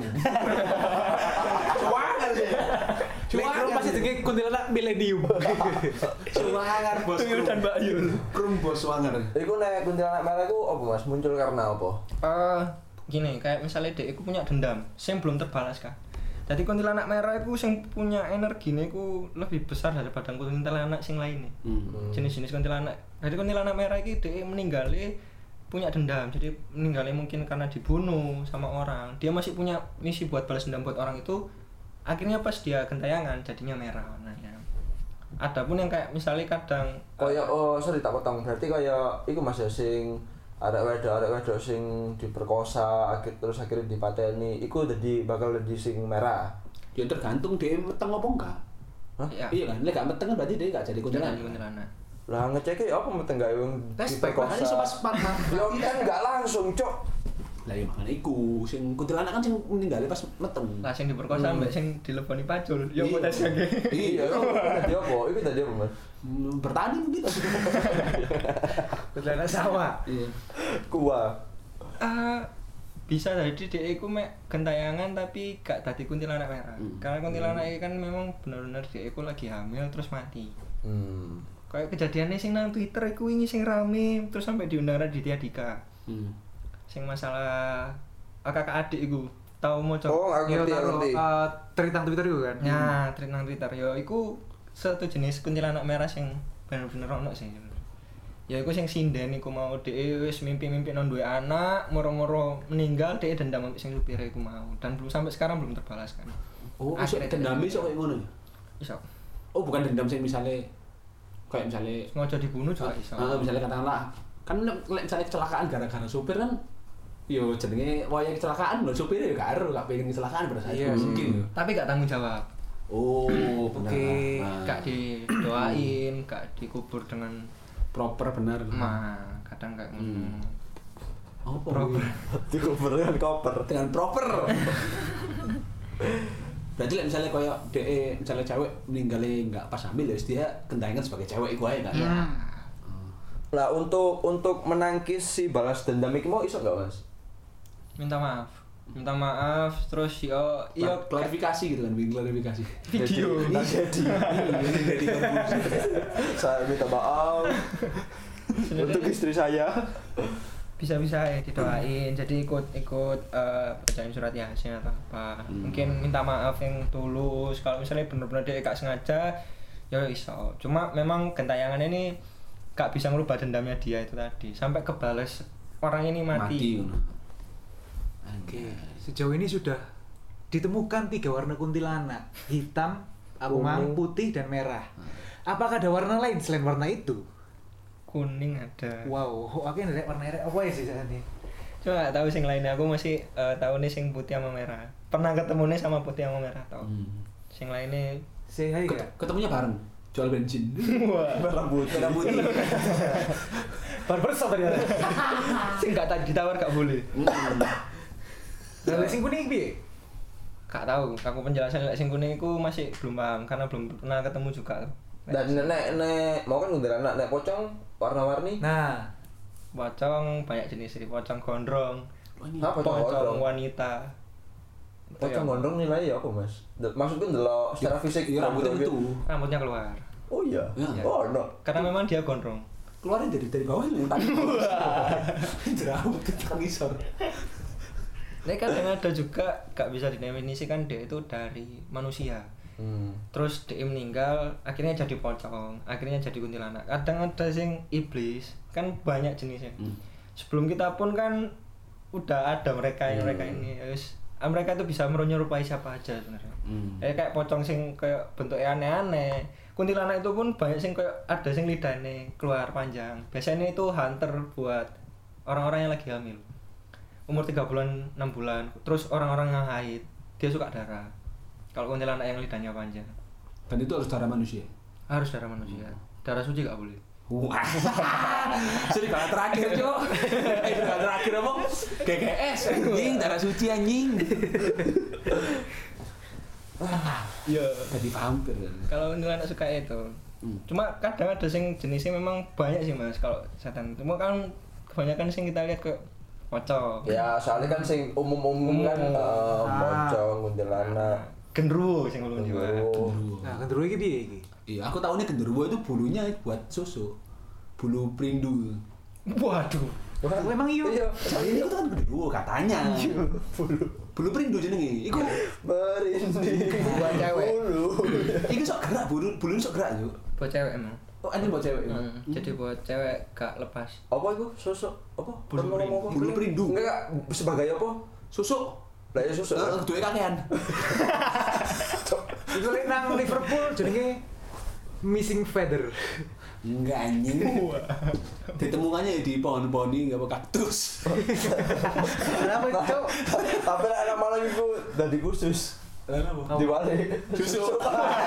Suwangar sih. Lek kru pasti jenenge kuntilanak Millennium. Suwangar bos. Tuyul dan Mbak Yul. Krum bos suwangar. Iku nek kuntilanak merah iku apa Mas? Muncul karena apa? Eh, gini, kayak misalnya dek iku punya dendam, sing belum terbalas kan. Jadi kuntilanak merah itu sing punya energinya iku lebih besar daripada kuntilanak sing lainnya. Hmm. Jenis-jenis kuntilanak. Jadi kuntilanak merah iki dhek meninggalnya punya dendam. Jadi meninggalnya mungkin karena dibunuh sama orang. Dia masih punya misi buat balas dendam buat orang itu. Akhirnya pas dia gentayangan jadinya merah warnanya. Adapun yang kayak misalnya kadang Kaya oh sorry tak potong. Berarti kaya iku Mas ya sing arek wedok arek wedok sing diperkosa akhir terus akhirnya dipateni iku dadi bakal dadi sing merah. Ya tergantung dia meteng apa enggak. Hah? ya, Iya kan, lek gak meteng kan berarti dia gak jadi kuntilanak kuntilanak. kuntilanak. Lah ngeceke apa meten gawe wong Tes Makanya diperkosa. pas pas Ya kan enggak langsung, Cok. lah ya makanya iku sing kuntilanak kan sing meninggalnya pas meteng. Lah sing diperkosa mbek sing dileboni pacul. Ya Iya. kok tes iki. Iya, iku tadi apa? Iku tadi apa, Mas? Hmm, bertani mungkin. Kuntilanak sawah. Iya. Kuah. Ah, bisa jadi dia iku mek gentayangan tapi gak dadi kuntilanak merah. Hmm. Karena kuntilanak iki kan memang bener-bener dia iku lagi hamil terus mati. Hmm. Kayak kejadiannya sing nang Twitter iku wingi sing rame terus sampai diundang Raditya Dika. Hmm. Sing masalah ah, kakak adik iku. Tahu mau coba. Oh, aku Yo ngerti, aku taruh ngerti. uh, tweetan Twitter itu kan. Ya, tweet nang Twitter yo iku satu jenis kuntilanak merah sing bener-bener ono sih. Ya iku sing sinden iku mau dhek wis mimpi-mimpi nang duwe anak, moro-moro meninggal dhek dendam ambek sing supire iku mau dan belum sampai sekarang belum terbalaskan. Oh, iso Akhirnya dendam dia- iso kayak ngono ya? Iso. Oh, bukan dendam sing misale kayak misale Ngojo dibunuh juga iso. Ah, misalnya katakanlah kan lek lek misalnya kecelakaan gara-gara supir kan yo jenenge waya kecelakaan lho supir ya gak ero gak pengen kecelakaan pada saat Iya itu sih. mungkin lho. Tapi gak tanggung jawab. Oh, benar. Oke. Nah, Gak didoain, gak dikubur dengan proper benar. ma, kadang kayak ngono. Apa? Proper. Dikubur dengan koper. Dengan proper. Berarti lek misalnya koyo dhek misalnya cewek meninggalnya enggak pas hamil ya wis dia kendangan sebagai cewek iku ae kan. Ya. Lah untuk untuk menangkis si balas dendam iki mau iso enggak, Mas? Minta maaf. Minta maaf terus yo yo Yo klarifikasi gitu kan, bikin klarifikasi. video. Jadi, jadi. Jadi Saya minta maaf. Untuk istri saya. Bisa-bisa ya didoain, jadi ikut ikut uh, bacain surat yasin atau apa. Hmm. Mungkin minta maaf yang tulus. Kalau misalnya bener-bener dia gak sengaja, ya iso. Cuma memang gentayangan ini gak bisa ngerubah dendamnya dia itu tadi. Sampai kebales orang ini mati. Mati. Oke, sejauh ini sudah ditemukan tiga warna kuntilanak, hitam, abang putih dan merah. Apakah ada warna lain selain warna itu? Kuning ada. Wow, akhirnya ada warna merah apa ya sih ini? Cuma gak tahu sing lainnya, aku masih uh, tahu nih sing putih sama merah. Pernah ketemu nih sama putih sama merah tau. Hmm. Sing lainnya Say hi Ket- gak? Ketemunya bareng. Jual bensin. wah, Merah putih. Merah putih. Barbershop ternyata. sing gak tadi ditawar gak boleh. Lalu sing kuning piye? Gak tahu, aku penjelasan lek sing kuning iku masih belum paham karena belum pernah ketemu juga. Dan nek nek mau kan kuntilanak nek pocong warna-warni. Nah, Pocong banyak jenis sih, pocong gondrong, Apa pocong pocong gondrong? wanita. Pocong gondrong nilai ya apa, Mas? De- Maksudku ndelok secara fisik Iya, rambutnya gondrong itu. gitu. Rambutnya keluar. Oh iya. Ya. Oh, no. Karena memang dia gondrong. Keluarin dari dari bawah lu tadi. Jerawat kita ngisor. Ini kan yang ada juga gak bisa didefinisikan dia itu dari manusia. Hmm. Terus dia meninggal, akhirnya jadi pocong, akhirnya jadi kuntilanak. Kadang ada sing iblis, kan banyak jenisnya. Hmm. Sebelum kita pun kan udah ada mereka yang mereka ini, terus mereka itu bisa menyerupai siapa aja sebenarnya. Hmm. Eh kayak pocong sing kayak bentuknya aneh-aneh. Kuntilanak itu pun banyak sing kayak ada sing lidahnya keluar panjang. Biasanya itu hunter buat orang-orang yang lagi hamil. Umur tiga bulan, enam bulan, terus orang-orang yang haid, dia suka darah. Kalau kuntilanak yang lidahnya panjang, Dan itu harus darah manusia. harus darah manusia. Darah suci gak boleh. Wah. Jadi kalau terakhir, Cok. Eh, kalau terakhir apa? G G S anjing, darah suci anjing. Iya. Jadi vampir kan. Kalau kuntilanak suka itu. Hmm. Cuma kadang ada sing jenisnya memang banyak sih Mas kalau setan. Cuma kan kebanyakan sing kita lihat kayak pocong. Ya, soalnya kan sing umum-umum kan Umum. eh, Ah. pocong, kuntilanak. Genderuwo sing ulun jiwa. Gendruwo. nah gendruwo iki piye iki? Iya, aku tahu nih genderuwo itu bulunya buat susu. Bulu perindu. Waduh. Wah, Emang iya? Iya. Ini itu kan genderuwo katanya. Bulu bulu perindu jenenge. Iku Merinding. Buat cewek. Bulu. iku sok gerak bulu bulu sok gerak, Cuk. Buat cewek emang. Oh, anjing buat cewek. Hmm, Jadi buat cewek gak lepas. Apa itu? Sosok apa? Bulu Kan ngomong apa? Bulu perindu. Enggak, sebagai apa? Susuk. Lah ya sosok. Heeh, duwe kakean. Iku lek nang Liverpool jenenge missing feather. Enggak anjing. Ditemukannya di pohon-pohon ini enggak apa kaktus. Kenapa, Cok? Tapi nek anak malam iku dadi khusus. Kenapa? Diwali. Susuk.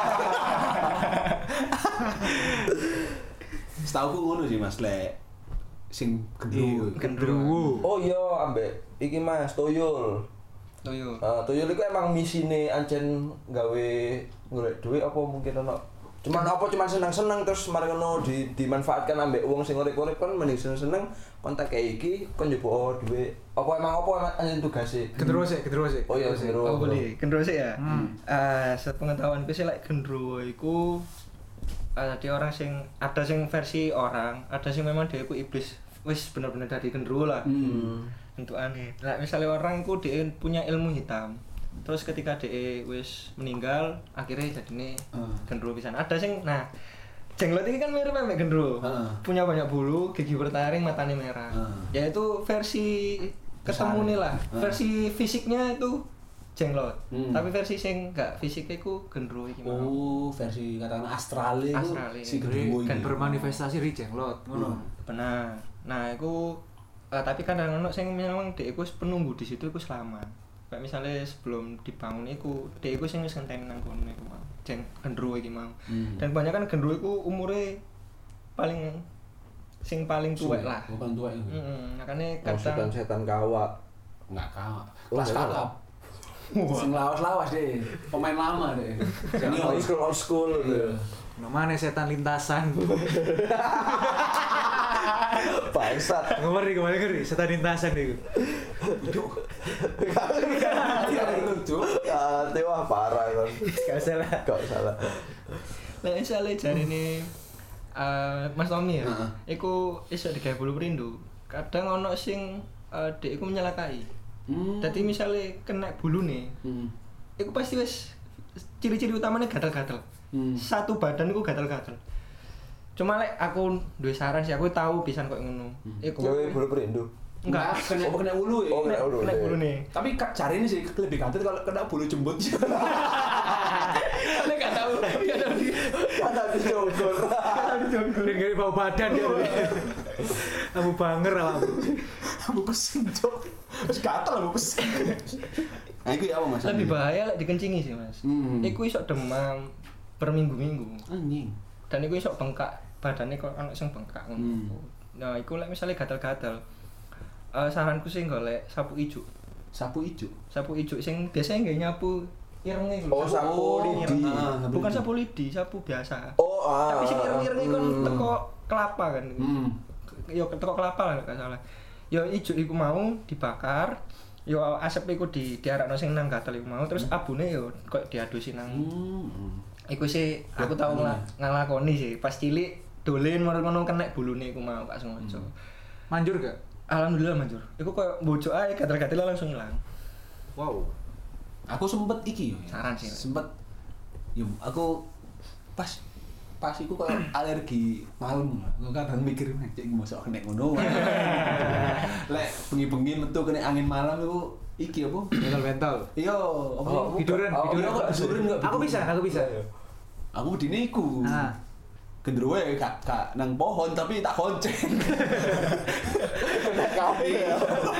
Setauku ngono sih Mas Lek. Sing gendruwo. Gendruwo. Oh iya, ambek iki Mas Toyol. Toyo. Ah, Toyol iku emang misine ancen gawe golek duit apa mungkin ono. Cuman apa cuman seneng-seneng terus mari ngono di dimanfaatkan ambek wong sing urip-urip kan mending seneng-seneng kontak kayak iki kon njupuk duit. Apa emang apa emang ancen tugase? Gendruwo sik, gendruwo sik. Oh iya, gendruwo. Oh boleh, gendruwo sih ya. Hmm. Eh, sepengetahuanku sih like gendruwo iku ada orang sing ada sing versi orang, ada sing memang dia iku iblis. Wis bener-bener dari gendruwo lah. Hmm. Untuk aneh. Nah, misalnya orang iku dia punya ilmu hitam. Terus ketika dia wis meninggal, akhirnya jadinya Hmm. gendruwo pisan. Ada sing nah jenglot ini kan mirip sama gendruwo. Heeh. Punya banyak bulu, gigi bertaring, matanya merah. Heeh. Yaitu versi ketemu nih lah. Heeh. Versi fisiknya itu jenglot. Hmm. Tapi versi sing enggak fisiknya iku gendruwo iki mau. Oh, versi katakanlah astral itu Astral, si iya. gendruwo Dan ini. bermanifestasi di jenglot, ngono. Benar. Nah, iku eh, tapi kadang ono sing memang dhek iku penunggu di situ iku selama. Kayak misalnya sebelum dibangun iku, dhek iku sing wis ngenteni nang kono iku mau. Jeng gendruwo iki mau. Hmm. Dan banyak kan gendruwo iku umure paling sing paling tuwek lah. Bukan tua itu. Heeh, makane Oh, kadang setan-setan kawak. Enggak kalah. Oh, Kelas enggak kakap. Sing lawas-lawas deh. Pemain lama deh. Senior. Old school, old school. Iya. Namanya setan lintasan. Bangsat. Ngeri kemana ngeri, setan lintasan itu. Iya, lucu. Ah, wah parah kan. Gak salah. Gak salah. lek misalnya jarine eh, Mas Tommy ya. Heeh. Iku iso digawe bulu perindu. Kadang ono sing uh, dek iku menyalakai. Hmm. Dadi misale kena bulune, Hmm. iku pasti wis ciri-ciri utamanya gatal-gatal. Hmm. Satu badan iku gatal-gatal. Cuma lek aku duwe saran sih, aku tahu pisan kok ngono. Iku Gawe bulu perindu. enggak kena kena ulu ya. Oh, kena ulu. kena bulune. Tapi kak cari ini sih lebih gatel kalau kena bulu jembut. Lek gak tahu, gak tahu di Ada di jogor. Dan gak bau badan dia. Abu banger lah. Abu pesing cok. Terus gatel abu pesing. Nah itu ya apa mas? lebih bahaya lek dikencingi sih, Mas. Hmm. Iku iso demam per minggu-minggu. Anjing. Dan iku iso bengkak, badannya kok ana sing bengkak ngono. Hmm. Nah, iku lek misale gatal-gatal. Eh saranku sih golek sapu ijuk. Sapu ijo. Sapu ijuk sing biasanya nggak nyapu irenge. Oh, sapu lidi. Ah, Bukan sapu lidi, sapu biasa. Oh, ah. Tapi sing ireng-ireng kan teko kelapa kan. Hmm. Yo teko kelapa lah gak salah. Yo ijuk iku mau dibakar. Yo asep iku di diarakno sing nang gatel iku mau terus abune yo kok diadusi nang. Hmm. Iku sih aku tau ngla- nglakoni sih pas cilik dolen ngono kena bulune iku mau gak sengaja. Manjur gak? Alhamdulillah manjur. Iku koyo bocok ae gatel-gatel langsung ilang. Wow. Aku sempet iki yo. Saran sih. Sempet. Yo aku pas pas iku koyo alergi malam. Aku kadang mikir nek cek mosok kena ngono. Lek bengi-bengi metu kena angin malam iku iki apa? Mental-mental. Iya, apa? Oh, Tiduran, oh, tiduran. iya, kok tiduran nggak Aku begitu? bisa, aku bisa. Aku dine iku. Ah. Gendruwo ya kak, kak nang pohon tapi tak konceng. Kena kafe ya.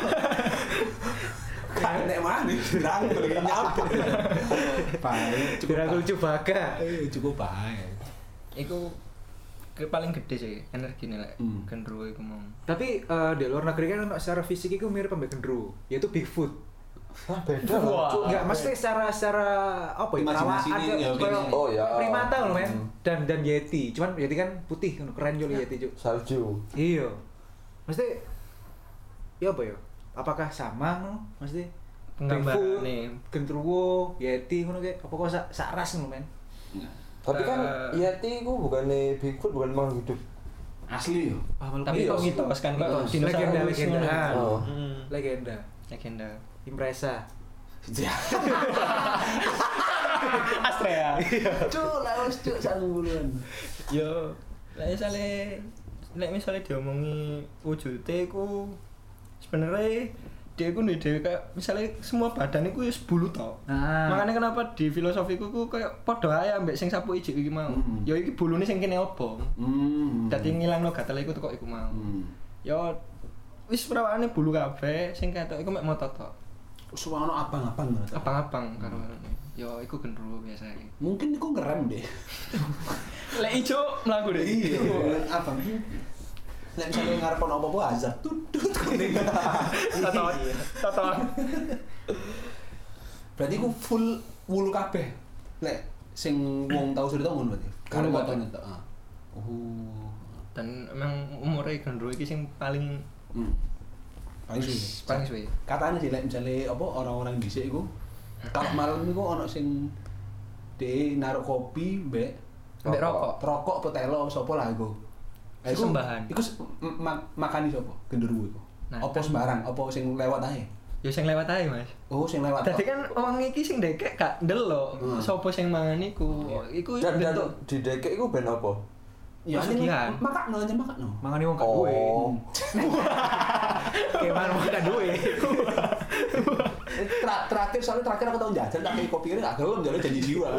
Kan nek mana dirangkul nyampe. Baik, cukup. Dirangkul baik. Cubaka. Eh, cukup baik. Iku ke paling gede sih energine lek Hmm. gendruwo iku mau. Tapi eh, di luar negeri kan secara fisik itu mirip ambek gendruwo, yaitu Bigfoot. Wah, beda. Wah. Cuk. Enggak, mesti secara secara apa ya? Imajinasi perawatan, ini, ya, kayak Oh, ya. primata loh men. Hmm. Dan dan Yeti. Cuman Yeti kan putih, keren juga Yeti juga. Salju. Iya. Mesti ya apa ya? Apakah sama ngono? Mesti Bigfoot, Penggambarane. gendruwo, Yeti ngono kayak apa kok sak sak ras ngono men. Tapi kan Eh. Yeti ku bukannya Bigfoot, bukan makhluk hidup. Asli yo. Ah, malu Tapi Iya, kok mitos kan kok mitos. dinosaurus legenda legenda. ngono. Oh. Hmm. Legenda. Legenda. Impresa. Astrea. Cuk, lawas cuk sarung buluan. Yo, lek misale lek misale diomongi wujude iku sebenarnya dia iku ndek dhewe kayak misale semua badan iku wis bulu to. Nah. Makanya kenapa di filosofiku ku kayak padha ae ambek sing sapu ijuk iki mau. Hmm. Ya iki bulune sing kene opo. Hmm. Dadi ngilangno gatel iku teko iku mau. Hmm. Ya wis perawakane bulu kabeh sing ketok iku mek motot tok. Suwono abang-abang ngono. Abang-abang karo ya iku gendruwo biasa iki. Mungkin iku ngerem deh. Lek ijo mlaku deh. Iya, abang. Nek misalnya ngarep ono apa-apa azab tutut kuning. Toto. Toto. Berarti ku full wulu kabeh. Lek sing wong tau cerita ngono berarti. Karo Wulu fotone tok. Ah. Oh. Dan emang umure gendruwo iki sing paling Hmm. Paling suwe. paling suwe. Katanya sih lek misale apa orang-orang dhisik iku kalau malam iku ono sing de naruh kopi mbek Mbek rokok. rokok apa telo apa sapa lah iku. Eh, iku- Sesembahan. Iku se- m- ma- makani sapa? Genderuwo iku. Nah, Apa kan- sembarang? Apa sing lewat ae? Ya sing lewat ae, Mas. Oh, sing lewat. Dadi tok. kan wong iki sing ndekek gak ndelok Hmm. sapa sing mangan iku. Iku Dan dan bentuk di dekek iku ben apa? ya pesugihan. makakno aja makakno. Mangane wong gak duwe. Oh. Kayak mana wong gak duwe. Eh, Tra- terakhir soalnya terakhir aku tau jajan tak kayak kopi ini gak gelem jadi janji jiwa.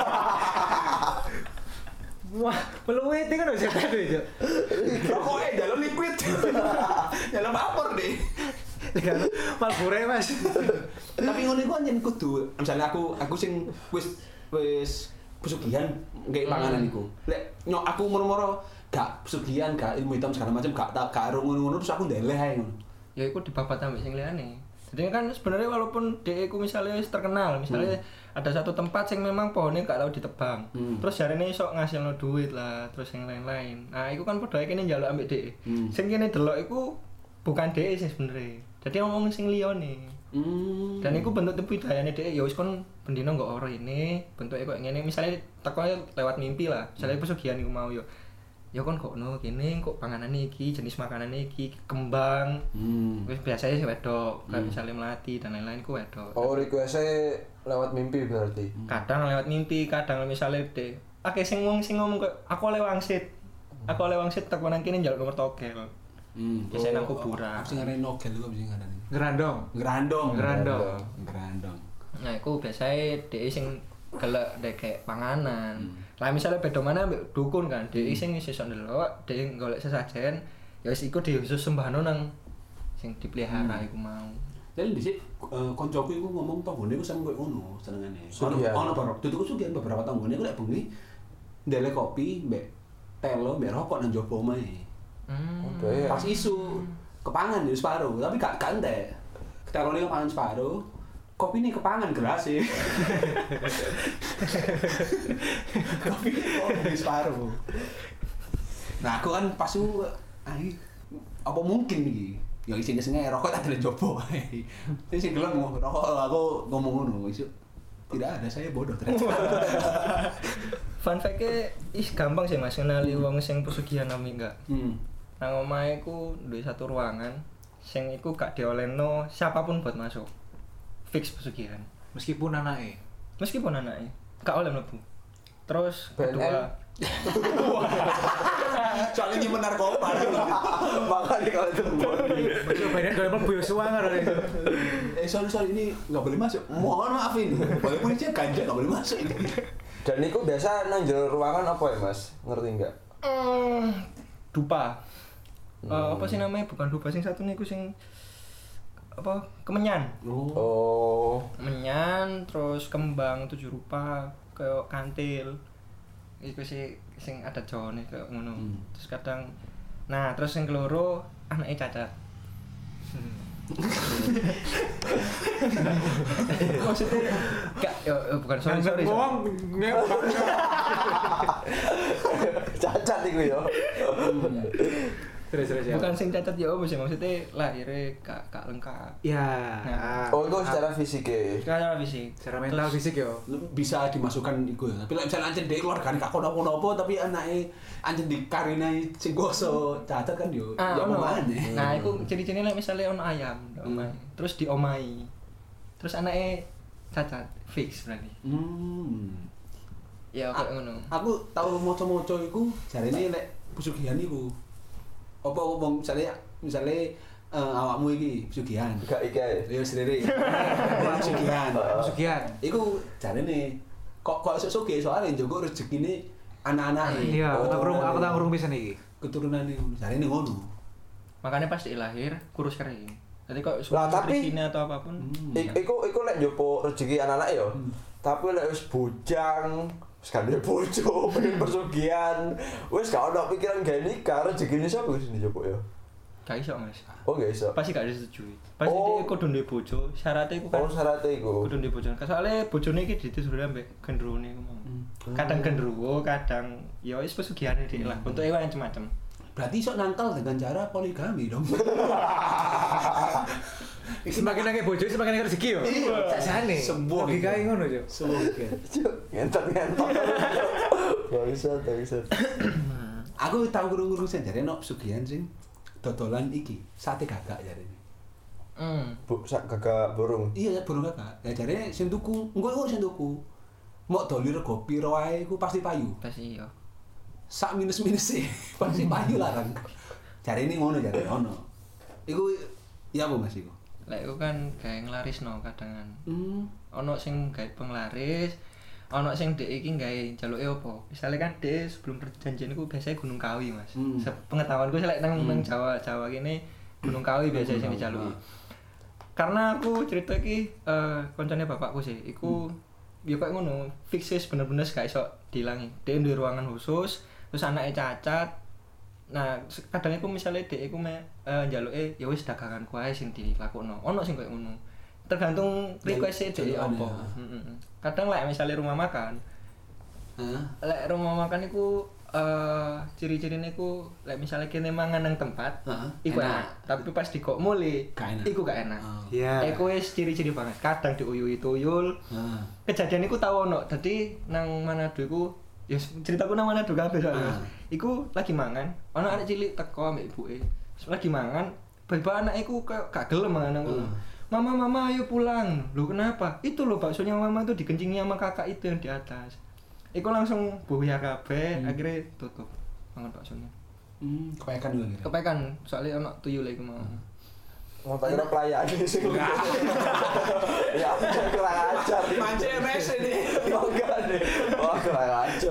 Wah, peluit kan bisa tadi itu. Rokoknya dalam liquid. Dalam vapor deh. Malbore Mas. Tapi ngono iku anjen kudu misalnya aku aku sing wis wis pesugihan kayak panganan iku. Lek nyok aku moro-moro gak pesugihan, gak ilmu hitam segala macam gak tak gak ngono-ngono terus aku ndeleh ae ngono. ya iku dibabat ambek sing liyane. Jadi kan sebenarnya walaupun dhek iku misalnya wis terkenal, misalnya ada satu tempat yang memang pohonnya gak tau ditebang. Hmm. Terus jarene iso ngasilno duit lah, terus yang lain-lain. Nah, iku kan padha kene njaluk ambek dhek. Hmm. Sing kene delok iku bukan dhek sih sebenarnya. Jadi ngomong sing liyane. Hmm. Dan iku bentuk budayane dhek ya wis kon bendino nggo ora ini, bentuke koyo ngene. Misalnya teko lewat mimpi lah, misalnya pesugihan iku mau yo. ya kon kok no kene kok panganane iki, jenis makanane iki, kembang. Hmm. Wis biasanya sih wedok, kayak misalnya melati dan lain-lain ku wedok. Oh, request-e lewat mimpi berarti. Kadang lewat mimpi, kadang misalnya de akeh sing wong sing ngomong kok aku oleh wangsit. Aku oleh wangsit tak nang kene njaluk nomor togel. Hmm. Biasanya nang kuburan. Aku sing ngarani nogel iku bisa ngarani. Gerandong. Gerandong. Gerandong. Gerandong. Nah, iku biasanya dhek sing gelek dek kayak panganan. Hmm. Lah misalnya beda mana ambek dukun kan, dhek sing sesuk ndelok, dhek golek sesajen, ya wis iku dhewe khusus sembahno nang sing dipelihara iku mau. Jadi dhisik eh, koncoku iku ngomong tanggane iku sampe koyo ngono senengane. Ono Sugihan. ono beberapa tutuku sugihan beberapa tanggane iku lek bengi ndelek kopi mbek telo mbek rokok nang jaba omahe. Hmm. Oke ya. Pas isu kepangan ya separuh, tapi gak gak entek. Telone kepangan separuh. Kopi ini kepangan gelas sih. Kopi ini separuh. Nah aku kan pas itu, ay, apa mungkin nih? Ya isinya sengaja rokok tak ada jopo. Ini sih gelem rokok aku ngomong ngono isu. Tidak ada, saya bodoh ternyata. Fun fact-e ih gampang sih Mas kenali wong sing pesugihan nami enggak. Hmm. Nang omahe ku duwe satu ruangan sing iku gak diolehno siapapun buat masuk. Fix pesugihan. Meskipun anaknya. Meskipun anaknya gak oleh mlebu. Terus B N N. kedua Soalnya ini narkoba. Makanya kalau itu Masuk badan kalau mau buyus suangar. Eh sorry sorry ini nggak boleh masuk. Mohon maaf ini. Walaupun ini ganja nggak boleh masuk ini. Dan itu biasa nang jero ruangan apa ya, Mas? Ngerti enggak? Hmm, dupa. Eh, apa sih namanya? Bukan dupa sing satu niku sing apa? Kemenyan. Oh. Kemenyan, terus kembang tujuh rupa, kayak kantil. Iku sih sing ada jone kayak ngono. Hmm. Terus kadang nah, terus yang keloro anaknya cacat. Maksudnya gak ya ya, bukan sorry sorry. sorry. Cacat iku ya. Terus terus ya. Bukan sing cacat ya apa sih maksudnya lahirnya gak gak lengkap. Ya. Nah. Oh, itu secara fisik ya. Secara fisik. Secara mental fisik yo. Bisa dimasukkan iku ya. Tapi lek misalnya anjen dhek keluarga gak kono-kono tapi anake anjen dikarinai sing goso cacat kan yo. Ah, Ya ono. mana? Nah, iku ciri-ciri lek misale ono ayam, Hmm. omai. Terus diomai. Terus anaknya cacat, fix berarti. Hmm. Ya kayak ngono. Aku tahu moco-moco iku jarene lek pesugihan iku. Apa wong misale misale uh, awakmu iki pesugihan. Gak ikae. Ya sendiri. Pesugihan. Pesugihan. Iku jarene kok kok esuk sugih soalnya njogo rezekine anak-anake. Iya, aku tak kurung aku tak kurung pisan iki. Keturunane jarene ngono. Makanya pas lahir kurus kering. Jadi kok Lah, tapi- sini atau apapun. Hmm. Ik- Iku iku lek njopo rezeki anak-anak ya. Tapi lek wis bujang, wis kan duwe bojo, pengen persugihan, wis gak ono pikiran gawe nikah, rezekine sapa wis njopo ya. Gak iso, Mas. Oh, gak iso. Pasti gak disetujui. Pasti Oh. dia kudu duwe bojo, syaratnya iku kan Oh, syaratnya iku. kudu duwe bojo. Soale bojone iki ditusuri ambek gendrone iku mau. Hmm. Kadang gendruwo, kadang ya wis pesugihane dhek lah. Bentuke wae macam-macam. Berarti iso nangkal dengan cara poligami dong. Semakin akeh bojo semakin akeh rezeki yo. Iya. Sakjane. Sembuh. Logikae ngono yo. Semoga. Cuk, ngentot-ngentot. Gak bisa, gak bisa. Aku tahu guru-guru sing jarene ono pesugihan sing dodolan iki, sate gagak jarene. Hmm. Bu, sak gagak burung. Iya, burung gagak. Ya jarene sing tuku, engko iku sing tuku. Mok doli rego piro wae iku pasti payu. Pasti iya. Sak minus-minus sih, pasti payu larang. Jarene ngono jarene ono. Iku ya apa Mas iku? Lek iku kan gawe nglarisno kadangan. Hmm. Ono sing gawe penglaris, ono sing dhek iki gawe jaluke apa? Misale kan dhek sebelum perjanjian iku biasanya Gunung Kawi, Mas. Hmm. Sepengetahuanku sih lek nang nang Jawa, Jawa kene Gunung Kawi biasanya sing dijaluki. Karena aku cerita iki eh koncone bapakku sih, iku ya kayak ngono, fix wis bener-bener gak iso dilangi. Dhek duwe ruangan khusus, terus anaknya cacat. Nah, kadang iku misale dhek iku me uh, njaluke ya wis daganganku ae sing dilakokno. Ono sing koyo ngono. Tergantung request-e dhek Jalukan apa. ya. Heeh. Kadang lek misale rumah makan, Hah? lek rumah makan iku eh ciri-cirine iku lek misale kene mangan nang tempat, Heeh. iku Enak. enak. Tapi pas dikok mule, Gak enak. iku gak enak. Oh. Iya. Iku wis ciri-ciri banget. Kadang diuyui tuyul. Heeh. Kejadian iku tau ono. Dadi nang Manado iku Ya ceritaku nang Manado kabeh soalnya. Ah. Iku lagi mangan, ana anak cilik teko ambek ibuke. Lagi mangan, tiba anak iku kayak gak gelem mangan aku. Hmm. Mama, mama ayo pulang. Loh kenapa? Itu loh baksonya mama itu dikencingi sama kakak itu yang di atas. Iku langsung buya kabeh, Hmm. akhirnya tutup mangan baksonya. Hmm, kepekan juga gitu. Kepekan, soalnya ana tuyul iku mau. Mau tak kira pelayan sih. Ya aku kurang ajar. Mancing M S ini. Oh enggak deh. Wah kurang ajar.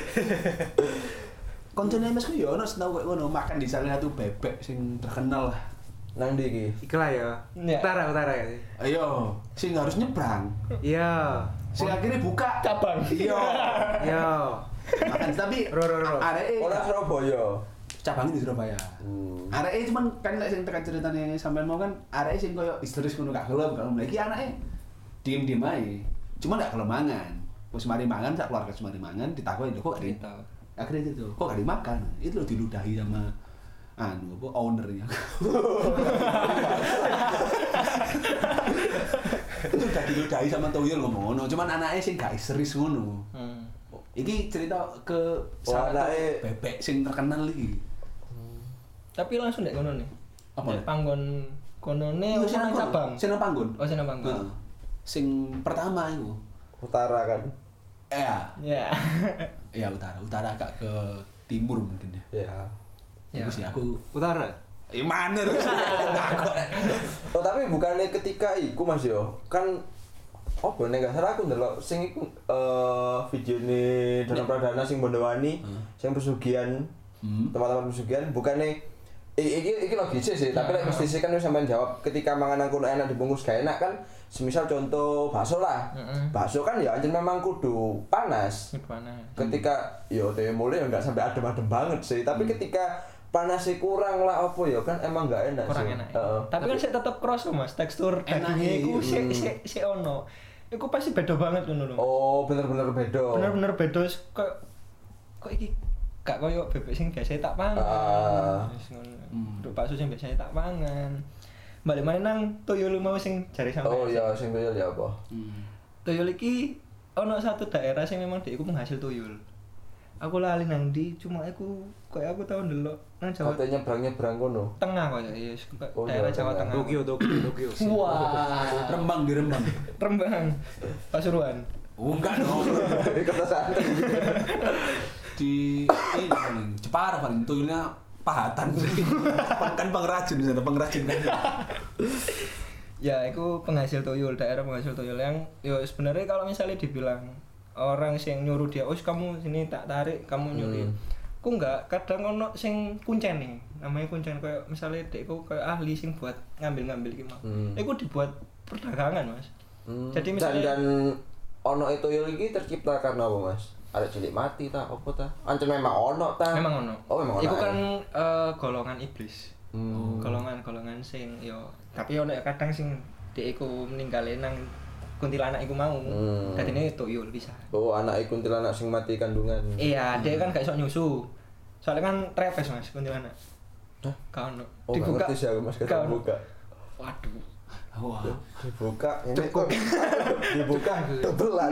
Koncone M S ku yo ono senau koyo ngono makan di salah satu bebek sing terkenal lah. Nang ndi iki? Iki lah ya. Ya. Utara utara ya. Ayo, sing harus nyebrang. Iya. Sing akhirnya buka Cabang. Iya. Iya. Makan tapi Ro, ro, ro. areke Ora Surabaya. cabangnya di Surabaya. Hmm. Areke cuman kan lek sing tekan ceritane sampean mau kan areke sing koyo histeris ngono gak gelem kalau iki anake diem-diem ae. Cuma gak gelem mangan. Wis mari mangan sak keluarga mari mangan ditakoki lho kok gak di- Cerita. akhirnya itu kok gak dimakan. Itu lho diludahi sama anu apa ownernya. Itu udah diludahi sama tuyul ngomong ngono. Cuman anake sing gak histeris ngono. Hmm. Iki cerita ke Oh, salah satu anake- bebek sing terkenal iki. Tapi langsung ndek kono nih. Apa? Ndek panggon konone Iya, ono sing nang nang cabang. Sing nang panggon. Oh, sing nang panggon. Heeh. Sing pertama iku. Utara kan. Iya. Ya. Iya utara, utara agak ke timur mungkin ya. Ya. Ya. Terus ya aku Utara. eh mana terus? Oh tapi bukannya ketika iku Mas yo kan oh nek gak salah aku ndelok sing iku eh videone Danau Pradana sing Bondowani Hmm. sing pesugihan Hmm. teman-teman pesugihan bukannya I- iki iki logis sih, tapi lek mesti sih kan wis sampean jawab ketika mangan nang kono enak dibungkus gak enak kan. Semisal contoh bakso lah. Heeh. Bakso kan ya anjen memang kudu panas. Gimana? Ketika yo teh mulai ya enggak sampai adem-adem banget sih, tapi ketika panasnya kurang lah apa ya kan emang enggak enak Kurang sih. enak. ya? Heeh. Tapi kan sik tetep kroso Mas, tekstur Enak, dagingnya iku iya. sik sik sik ono. Iku pasti beda banget ngono lho. Oh, bener-bener beda. Bener-bener beda kok kok iki gak koyo bebek sing biasa tak pangan. Ah. Wis ngono. Hmm. Untuk bakso sing biasa tak pangan. Balik maneh nang tuyul mau sing jare sampe. Oh iya, sing tuyul ya apa? Hmm. Tuyul iki ono satu daerah sing memang dia iku penghasil tuyul. Aku lali nang ndi, cuma aku koyo aku tau ndelok nang Jawa Katanya nyebrang-nyebrang kono. Tengah koyo ya, yes, Oh, daerah Jawa Jawa Tengah. Tengah. Tokyo, Tokyo, Tokyo. Wah, Rembang di Rembang. Rembang. Pasuruan. Oh, enggak dong. Di kota santai. Di ini paling Jepara paling tuyulnya pahatan. Kan pengrajin di sana, pengrajin kan. Ya, itu penghasil tuyul, daerah penghasil tuyul yang yo sebenarnya kalau misalnya dibilang orang sing nyuruh dia, "Oh, kamu sini tak tarik, kamu nyuruh." Hmm. Ku enggak, kadang ono sing kuncen nih. Namanya kuncen kayak misalnya dekku kayak ahli sing buat ngambil-ngambil iki mah. Hmm. Iku dibuat perdagangan, Mas. Hmm. Jadi dan, misalnya dan ono itu tuyul iki tercipta karena apa, Mas? Ada cilik mati ta apa ta? Ancen memang ono ta? memang ono. Oh, memang ono. Iku ya? kan eh, golongan iblis. Hmm. Golongan-golongan sing yo tapi ono ya kadang sing dek iku meninggalin nang kuntilanak iku mau. Hmm. Dadine tuyul bisa. Oh, anak iku kuntilanak sing mati kandungan. Iya, dia kan gak iso nyusu. Soalnya kan trepes Mas kuntilanak. Hah? Gak ono. Oh, gak ngerti sih aku Mas Gak kata ono. buka. Waduh. Wah. Dibuka ini kok dibuka tebelan.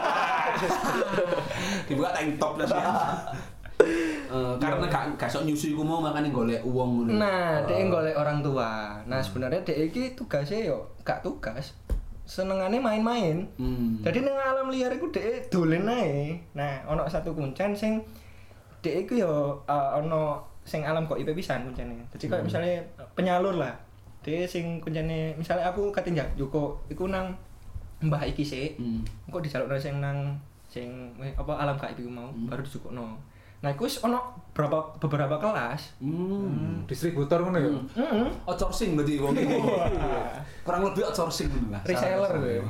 Dibuka tank top lah sih. Eh, karena gak gak sok nyusu iku mau makane golek uang ngono. Nah, dia golek orang tua. Nah, sebenarnya dia iki tugasnya yo gak tugas. Senengane main-main. Hmm. Jadi nang alam liar iku dhek dolen ae. Nah, ono satu kuncen sing dhek iku yo uh, ono sing alam kok I P pisan kuncene. Jadi kayak misalnya penyalur lah. Dhek sing kuncene misalnya aku katinjak Joko iku nang Mbah iki sik. Hmm. Kok dijalukno sing nang sing weh, apa alam K I P ku mau baru dijukukno. Nah, iku wis ono beberapa beberapa kelas. Hmm. Distributor ngono ya. Heeh. Outsourcing berarti wong iki. Kurang lebih outsourcing ngono lah. Reseller gue.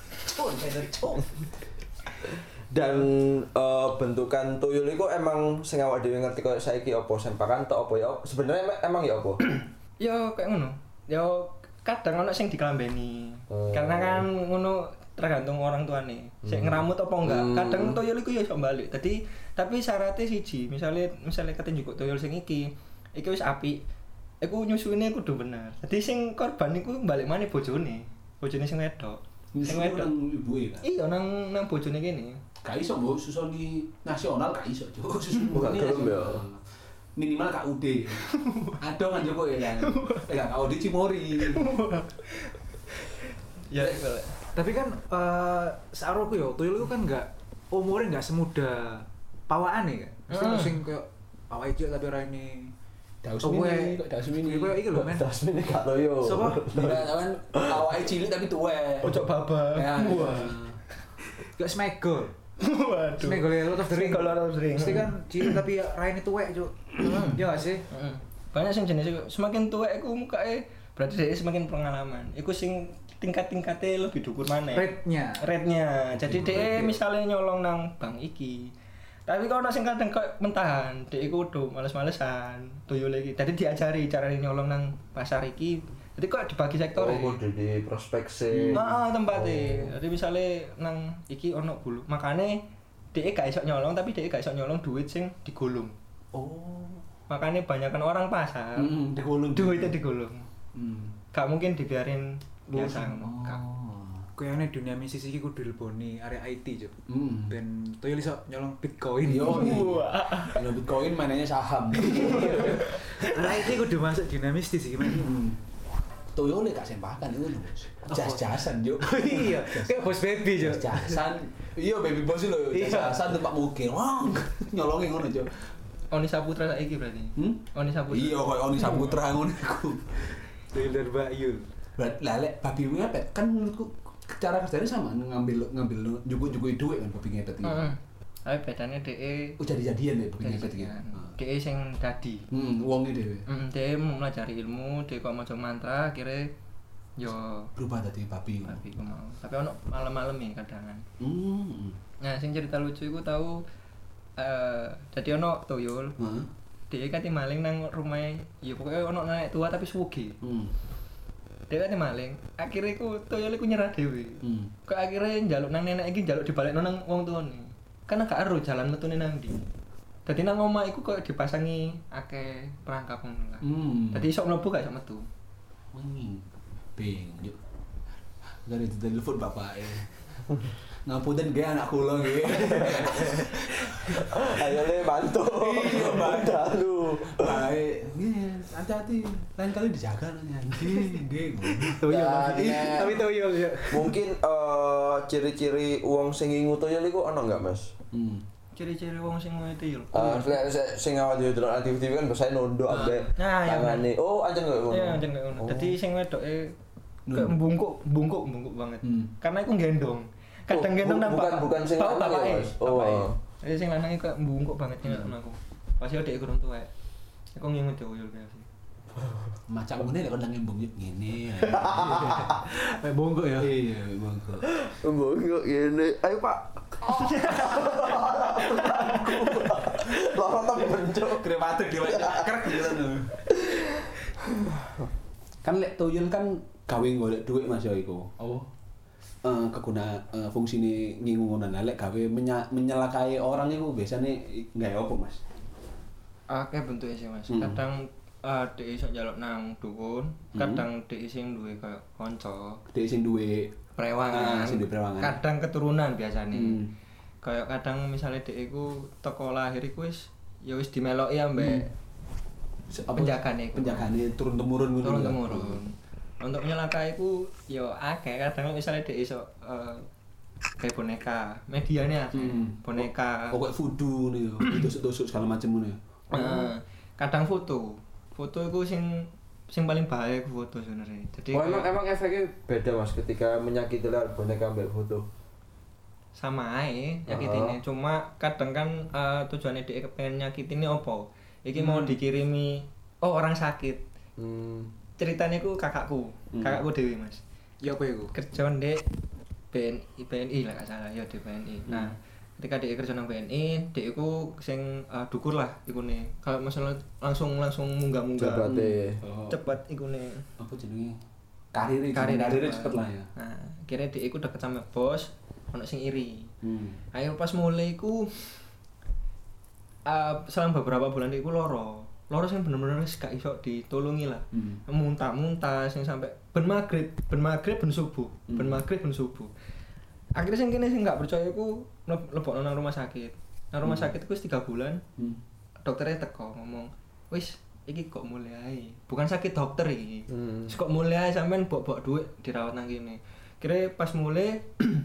Dan eh, bentukan tuyul itu emang sing awak dhewe ngerti koyo saiki apa sempakan tok apa ya sebenarnya em- emang ya apa? Yo kayak ngono. Yo kadang ono sing dikelambeni. Oh. Karena kan ngono tergantung orang tuane. Sik ngeramut apa enggak. Hmm. Kadang tuyul iku yo iso balik. Dadi tapi syaratnya siji, misalnya misalnya ketenjuk tuyul sing iki, iki wis apik. Iku nyusune kudu bener. Dadi sing korban iku balik maneh bojone. Bojone sing wedok. Nyusul wedok. nang ibuke kan. Iya nang nang bojone kene. Gak iso mbok susoni nasional gak iso, Cuk. Susun Oh, gak murni gelem ya? nasional. Minimal K U D. Ada kan Joko ya kan. Eh gak K U D Cimori. Ya iku lek. Tapi kan eh searoku yo, tuyul itu kan enggak umurnya enggak semuda pawaan ya kan. Mesti Hmm. ono sing koyo awake cilik tapi ora ini. Daus Tuwek. mini, kok daus mini. Koyo iki lho men. Das ini gak toyo. Sopo? Nah, kan awake cilik tapi tuwek. Ojo baba. Ya. Gak smegol. Waduh. Smegol ya Lord of the Ring. Smegol Lord of the Ring. Mesti kan cilik tapi raine tuwek, Cuk. Iya gak sih? Heeh. Banyak sing jenis iku semakin tuwek iku mukake berarti dia semakin pengalaman. Iku sing tingkat-tingkatnya lebih dhuwur maneh. Rate-nya. Rate-nya. Jadi Hmm, dia rate-nya. misalnya nyolong nang bank iki. Tapi kalau nang sing kadang kok mentahan, dia iku udah males-malesan, tuyul iki. Jadi diajari cara nyolong nang pasar iki. Jadi kok dibagi sektor. Oh, kudu di prospeksi. Heeh, tempatnya. Jadi misalnya nang iki ono bulu. Makane dia gak iso nyolong tapi dia gak iso nyolong duit sing digulung. Oh. Makanya banyakkan orang pasar. Hmm, digulung. Duitnya digulung. Hmm. Gak mungkin dibiarin biasa Oh. ngono. Gak. Kayaknya dunia bisnis iki kudu dileboni area I T, Cuk. Hmm. Ben tuyul iso nyolong Bitcoin. Yo, kalau Bitcoin mainannya saham. Area I T kudu masuk dunia mistis iki, men. Hmm. Toyo lek gak sempakan itu lho, Bos. Jas-jasan, Juk. Oh iya, kayak bos baby, Cuk. Jas-jasan. Iya, baby boss lho, Iya. jas-jasan tempat mungkin. Wah, nyolongin ngono, Juk. Oni Saputra saiki berarti. Hmm? Oni Saputra. Iya, koyo Oni Saputra ngono iku. Tuyul dan Bayu. Berarti lek babi ngepet kan menurutku cara kerjanya sama ngambil ngambil juku-juku duit kan babi ngepet iki. Heeh. Tapi bedanya DE Oh, jadi-jadian ya babi ngepet iki. jadian. DE sing dadi. Hmm, wonge dhewe. Heeh, DE melajari ilmu, DE kok maca mantra, akhirnya yo Berubah dadi babi. tapi ku mau. Tapi ono malam-malam ya kadang. Hmm. Nah, sing cerita lucu iku tahu eh dadi ono tuyul. Heeh. Dia kate maling nang rumah, ya pokoknya ono nenek tua tapi sugih. Hmm. Dia kate maling, akhirnya ku tuyul iku nyerah dhewe. Hmm. Kok akhirnya njaluk nang nenek iki njaluk dibalekno nang wong tuane. Karena gak ero jalan metune nang ndi. Dadi nang omah iku koyo dipasangi akeh perangkap ngono lah. Hmm. Dadi iso mlebu gak iso metu. Wih, bing, yuk. Dari telepon bapak ya. Ngapunten ge anak kula nggih. Ayo le bantu. Iya, bantu. lu. Baik, nggih, hati-hati. Lain kali dijaga nanya. Nggih, nggih. Tuyul. Ya, tapi- nek- Tapi tuyul ya. Mungkin eh, ciri-ciri uang sing ngingu toyol iku ono enggak, Mas? Hmm. Ciri-ciri wong sing ngono tuyul. Eh, lek se- sing awal dhewe delok T V kan biasanya nunduk ambek Nah, iya, tangane. Oh, ancen koyo ngono. Iya, anjen koyo ngono. Oh. Dadi sing wedoke Hmm. kayak bungkuk, bungkuk, bungkuk banget. Hmm. Karena iku gendong. Kadang Oh, gendong bu- nang bukan- bapak. bukan sing bapak lanang ya, bapake. Mas? Oh. Bapake. Jadi sing lanang iku kayak bungkuk banget nek Hmm. aku. Pas yo dek kurang tuwek. Iku nginget tuyul kayak sih. Macam ngene lek kondang ngembung yuk ngene. Kayak bongkok ya. Iya, bangko. Mbok ngene. Ayo, Pak. Loro temen, Cuk. Kira batuk di krek gitu. Kan lek tuyul kan gawe golek duit Mas ya iku. Oh. Eh keguna eh, fungsine ngingu ngono. Nah, lek gawe menya- menyelakai orang iku biasane gawe apa, Mas? Akeh bentuke sih, Mas. Hmm. Kadang uh, dek iso njaluk nang dukun, Hmm. kadang dek sing duwe kayak kanca, Dek sing duwe prewangan. Ah, sing duwe prewangan. Kadang keturunan biasane. Hmm. Kayak kadang misalnya dek iku teko lahir iku wis ya wis dimeloki ambek Apa- penjagane iku. penjagane turun temurun ngono. turun ya? temurun. Untuk nyelakai iku yo akeh kadang misalnya dek iso eh, kayak boneka, mediane akeh. Hmm. Boneka. Pokok voodoo nih, ditusuk-tusuk segala macam ngono ya. Heeh. Kadang foto. Foto iku sing sing paling bahaya iku foto sebenarnya. Jadi Oh, emang kayak emang efeknya beda, Mas, ketika menyakiti lewat boneka ambek foto. sama ae nyakitine. Cuma kadang kan eh, tujuannya dia kepengen nyakitine opo? Iki mau dikirimi oh orang sakit. Hmm. Ceritanya ku kakakku, Hmm. kakakku dewi Mas. Ya apa iku? Kerja ndek B N I B N I lah gak salah ya di B N I. Nah, ketika dia kerja nang B N I, dia iku sing uh, dukur lah ikune. Kalau masalah langsung langsung munggah-munggah. Cepate. Oh. Cepet ikune. Apa jenenge? Karir Karir karir cepet lah ya. Nah, akhirnya dia iku deket sama bos, ono sing iri. Hmm. Ayo pas mulai iku uh, selang beberapa bulan dia iku loro. loro sing bener-bener wis gak iso ditulungi lah. Hmm. Muntah-muntah sing sampai ben maghrib, ben maghrib ben subuh, Hmm. ben maghrib ben subuh. Akhirnya sing kene sing gak percaya iku lebokno nang rumah sakit. Nang rumah Hmm. sakit iku wis tiga bulan. Hmm. Dokternya teko ngomong, "Wis, iki kok mulai ae. Bukan sakit dokter iki. Hmm. Wis kok mulai ae sampean bok-bok dhuwit dirawat nang kene." Kira pas mulai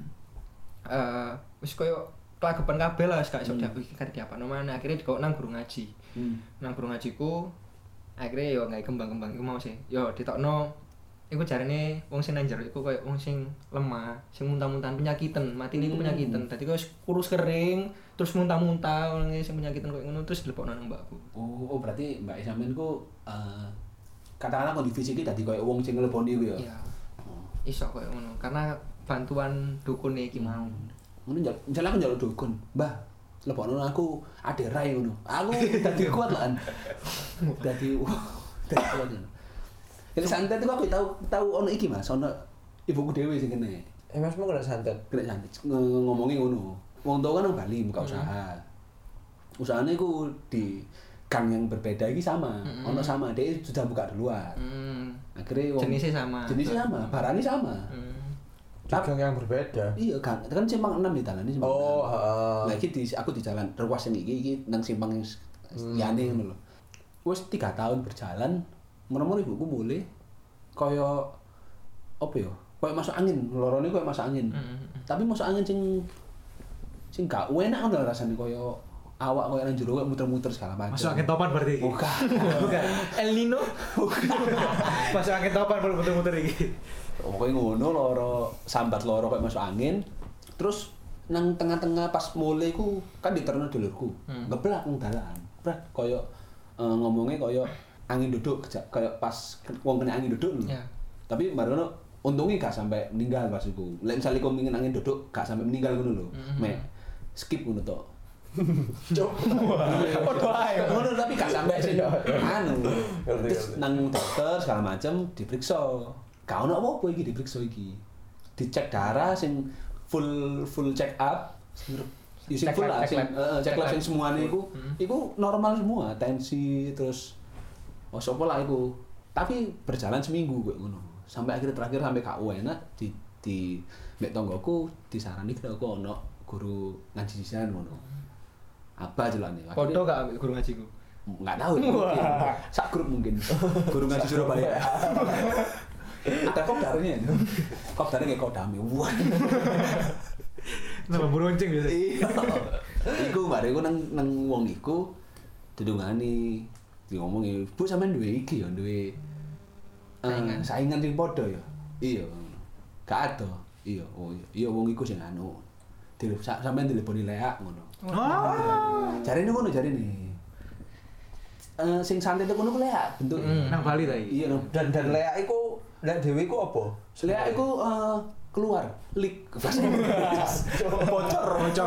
eh wis koyo kelagepan kabeh lah, gak iso Hmm. diaku iki kate diapakno maneh. Akhirnya dikok nang guru ngaji. Hmm. Nang guru ngajiku akhirnya yo gawe kembang-kembang iku mau sih. Yo ditokno iku jarene wong sing nang jero iku koyo wong sing lemah, sing muntah-muntahan penyakitan, matine iku penyakitan. Dadi koyo kurus kering, terus muntah-muntah wong sing penyakitan koyo ngono terus dilebokno nang mbakku. Oh, oh berarti Mbak sampean ku eh katakanlah kondisi fisik dadi koyo wong sing ngleboni iku ya. Iya. Oh. Iso koyo ngono karena bantuan dukun iki mau. Ngono njal, njal aku njaluk dukun. Mbah, lebokno aku ade rai ngono. Aku dadi kuat lan. Dadi dadi kuat. Jadi santet itu aku tahu tahu ono iki Mas, ono ibuku dhewe sing kene. Eh Mas mau kena santet. Kena santet Nge- ngomongin ngono. Wong tuwa kan nang Bali buka usaha. Usahanya iku di gang yang berbeda iki sama. Mm-mm. Ono sama, dia sudah buka duluan. Hmm. Akhirnya wong Jenisnya sama. Jenisnya sama, barangnya sama. Hmm. Dagang yang berbeda. Iya kan, kan simpang enam di dalan ini simpang Oh, enam. heeh. Lagi di aku di jalan ruas yang iki iki nang simpang yang liyane ngono lho. Wis tiga tahun berjalan, menemukan ibuku mulai kaya apa ya? Kaya masuk angin, lorone kaya masuk angin. Hmm. Tapi masuk angin sing sing gak enak ngono rasane kaya awak kaya nang jero kaya muter-muter segala macam. Masuk angin topan berarti. Bukan. Bukan. El Nino. Masuk angin topan baru muter-muter iki. Pokoknya ngono loro sambat loro kayak masuk angin. Terus nang tengah-tengah pas mulai ku kan diterno dulurku. Hmm. Ngeblak nang dalan. Brat koyo eh, ngomongnya koyo angin duduk keja- koyo pas wong kena angin duduk lho. Ya. Tapi barono untungnya gak sampai meninggal pas iku. Lek misale kok pengin angin duduk gak sampai meninggal ngono lho. Mhm. Mek skip ngono tok. Cuk. Padha ae. Ngono tapi gak sampai sing anu. Ngerti, Terus ngerti. nang dokter segala macam diperiksa. Gak ono apa-apa iki diperiksa iki. Dicek darah sing full full check up. Ya sing Cek full lab, lah cek sing lab. heeh, cek Cek lab lab. sing semuanya iku Hmm. iku normal semua, tensi terus oh sopo lah iku. Tapi berjalan seminggu kayak ngono. Sampai akhirnya terakhir sampai gak enak di di mek tonggoku disarani kena aku ono guru ngaji sisan ngono. Apa jelane? Podo gak ambek guru ngajiku. Enggak tahu mungkin. Sak grup mungkin. Guru ngaji Surabaya. Ada kopdarnya. Kopdarnya kayak kodame. Wah. Nama beruncing biasa. Iya. Iku bare iku nang nang wong iku didungani diomongi, "Bu sampean duwe iki ya, duwe eh, Saingan. saingan sing padha ya." Iya. Gak ada. Iya, oh iya. Iya wong iku sing anu. Dile sa- sampean dileboni leak ngono. Oh. Jarine ngono jarine. Eh sing santet iku ngono ku leak bentuk. Hmm. Nang Bali ta iki. Iya, no. Dan dan leak iku lek dhewe iku apa? Leak iku eh, keluar, leak. Bocor, bocor.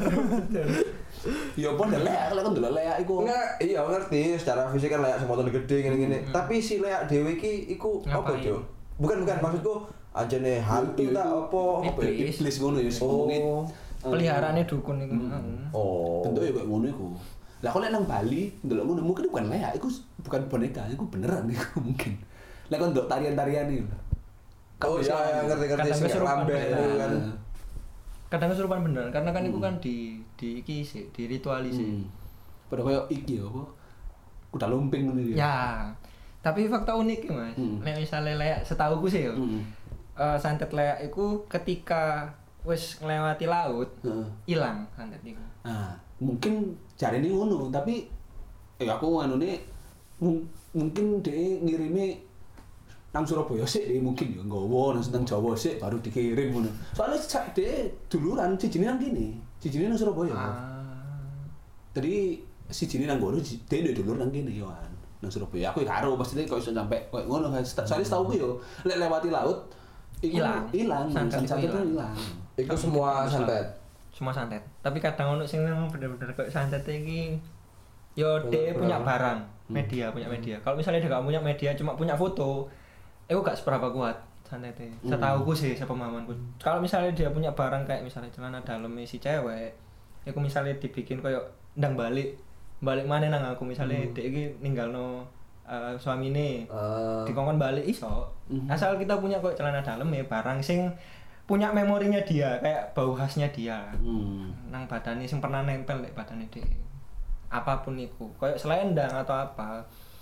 Ya apa ndelok leak, lek kon ndelok leak iku. Enggak, iya ngerti secara fisik kan leak semotone gede ngene-ngene. Tapi si leak dhewe iki iku apa, Ngapain? Cuk? Bukan bukan maksudku anjene hantu Iya, ta iku apa apa ya? iblis. Iblis ngono ya ngomongin. Oh. Peliharaannya dukun iku. Oh. Bentuknya kayak ngono iku. Lah kalau nang Bali ndelok ngono mungkin bukan leak, iku bukan boneka, iku beneran iku mungkin. Lek kon ndelok tarian-tarian iki. Oh iya, iya, ngerti-ngerti Kadang sing kesurupan lambe beneran. itu kan. Kadang kesurupan beneran karena kan itu kan di di iki sih, di ritualis sih. Hmm. Padha koyo iki ya apa? Kuda lumping ngono ya. Ya. Tapi fakta unik ya, Mas. Hmm. Nek misale leak setauku sih ya. Heeh. eh, santet leak iku ketika wis nglewati laut Heeh. ilang santet iku. Nah, mungkin jarine ngono, tapi eh aku anune mung- mungkin dhek ngirimi nang Surabaya sik dhek mungkin ya nggawa nang nang Jawa sik baru dikirim ngono. Soalnya sak dhek duluran sijine nang kene, sijine nang Surabaya. Ah. Jadi sijine nang ngono dhek duwe dulur nang kene yo an. Nang Surabaya aku ya karo pasti kok iso sampe koyo ngono kan. Soalnya setauku yo lek lewati laut iku Ilang. ilang, Santet santet iku itu ilang. ilang. Iku semua santet. Semua santet. Tapi kadang ono sing memang bener-bener kayak santet iki yo dia punya barang, media, punya media. Kalau misalnya dia gak punya media, cuma punya foto, itu gak seberapa kuat santetnya. Setauku sih, sepemahamanku. Kalau misalnya dia punya barang kayak misalnya celana dalam si cewek, itu misalnya dibikin kayak ndang balik, balik maneh nang aku misalnya Hmm. dek iki ninggalno uh, suamine Ah. dikongkon balik iso. Hmm. Asal kita punya kok celana dalam ya barang sing punya memorinya dia kayak bau khasnya dia. Hmm. Nang badane sing pernah nempel nek badane dek. Apapun iku, kayak selendang atau apa.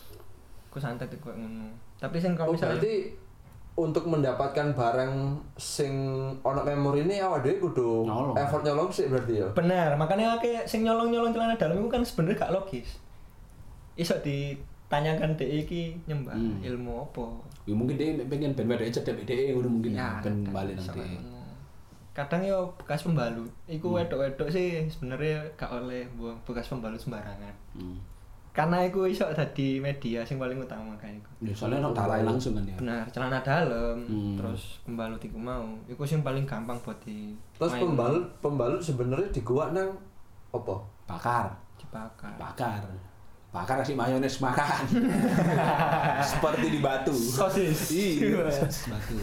Ku santet iku koyo ngono. Tapi sing kalau Oh, misalnya berarti untuk mendapatkan barang sing ono memori ini awak dhewe kudu Nyolong. effort nyolong sih berarti ya. bener, makanya kayak sing nyolong-nyolong celana dalam itu kan sebenarnya gak logis. Iso ditanyakan dek iki nyembah Hmm. ilmu apa. Ya mungkin dia pengen ben wedok cedek dhek ngono mungkin Ya, ben kadang balik iso nanti. kayak ngono. Kadang yo bekas pembalut. Iku Hmm. wedok-wedok sih sebenarnya gak oleh buang bekas pembalut sembarangan. Hmm. Karena iku iso dadi media sing paling utama kan iku. Ya soalnya ono dalai langsung kan ya. Benar, celana dalam, Hmm. terus pembalut iku mau. Iku sing paling gampang buat di Terus main. pembalut pembalut sebenarnya di gua nang apa? Bakar. dibakar. Bakar. Bakar kasih mayones makan. Seperti di batu. Sosis. Iya, sosis batu.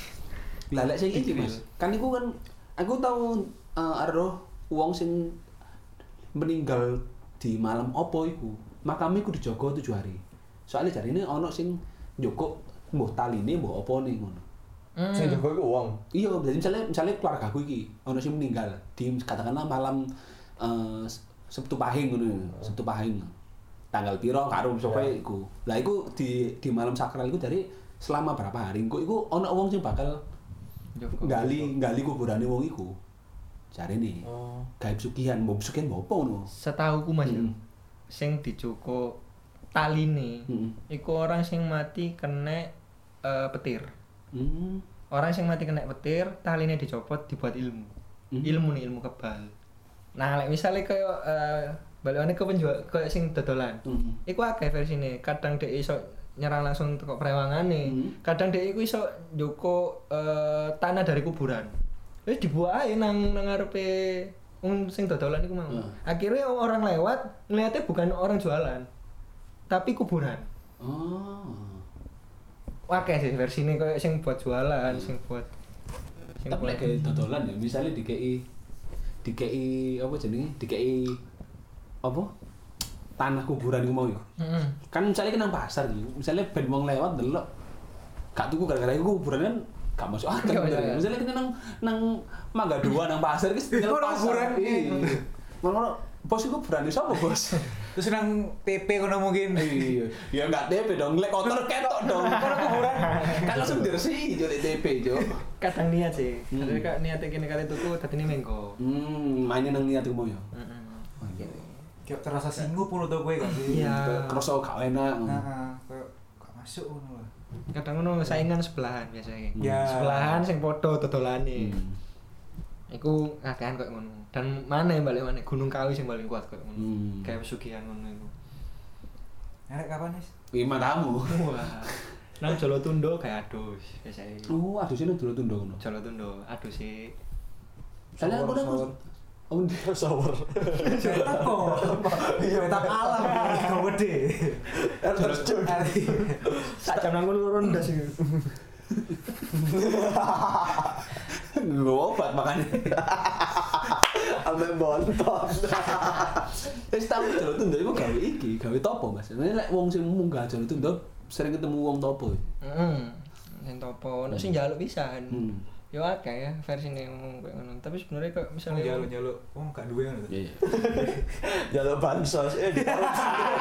Lah lek sing iki Mas, kan iku kan aku tahu uh, aruh wong sing meninggal di malam opo iku. Makamnya iku dijogo tujuh hari. Soalnya jarine ono sing njoko mbuh taline mbuh opo nih ngono. Hmm. Sing jago iku wong. Iya, jadi misalnya misalnya keluarga aku iki ono sing meninggal di katakanlah malam eh, Sabtu Pahing ngono, Sabtu Pahing. Tanggal piro karo sapa Ya. iku. Lah iku di di malam sakral iku dari selama berapa hari iku iku ono wong sing bakal Joko. gali gali kuburane wong iku. Jarine. Oh. Gaib sugihan, mbok sugihan mbok apa ngono. Setauku Mas ya. Hmm. Sing dicukup taline. Heeh. Iku orang sing mati kena eh, petir. Hmm. Orang sing mati kena petir, taline dicopot dibuat ilmu. Hmm. Ilmu nih ilmu kebal. Nah, lek misale koyo eh balikane ke penjual koyo sing dodolan. Hmm. Iku akeh versine. Kadang dhek iso nyerang langsung teko prewangane. Hmm. Kadang dhek iku iso njoko eh, tanah dari kuburan. Wis dibuat ae nang nang ngarepe wong sing dodolan iku mau. Hmm. Akhirnya orang lewat ngeliatnya bukan orang jualan, tapi kuburan. Oh. Akeh sih versine koyo sing buat jualan, sing buat sing Tapi lek kayak dodolan ya, misalnya dikei dikei apa jenenge? Dikei apa? Tanah kuburan iku mau ya. Heeh. Kan misalnya kan nang pasar gitu, misalnya ben wong lewat delok gak tuku gara-gara iku kuburan kan gak masuk akal. Iya, bener. iya. Misalnya kita nang nang Mangga Dua nang pasar iki tinggal Ono pasar. kuburan. Iya. Ngono bos iku kuburan sapa bos? Terus nang T P kono mungkin. Iya, ya enggak T P dong, lek kotor ketok dong. Kono kuburan. Kan langsung diresiki jo lek T P jo. Kadang niat sih. Hmm. Jadi kak niatnya kene kali tuku dadine mengko. Hmm, mainin nang niat iku mau ya. Heeh. Oh iya. Kayak terasa singgup ngono to kowe kan sih. Iya. Kroso gak enak. Heeh, kayak gak masuk ngono lah. Kadang ngono saingan sebelahan biasanya. Ya. Sebelahan sing padha dodolane. Hmm. Iku ngakehan koyo ngono. Dan mana yang balik mana Gunung Kawi sing paling kuat koyo ngono. Hmm. Kayak pesugihan ngono iku. Arek kapan, Nis? Lima tamu. Wah. Nang Jolotundo kayak adus biasanya. Oh, aduh sini dulu tundo ngono. Jolotundo adus sih. Soalnya aku Shower, nang Oh, ndi shower. Cetak kok. Iya, tak alam. Gak gede. Terus cuk. Sak jam nang kono rondas iki. Gue obat makanya. Ame bontot. Wis tau jero tundo iku gawe iki, gawe topo, Mas. Nek lek wong sing munggah jero tundo sering ketemu wong topo. Heeh. Sing topo, nek sing njaluk pisan. Hmm. Yo akeh ya versine ngomong koyo ngono. Tapi sebenarnya kok Misalnya misalnya jaluk-jaluk, wong gak duwe ngono. Iya, iya. Jalur bansos eh dikorupsi.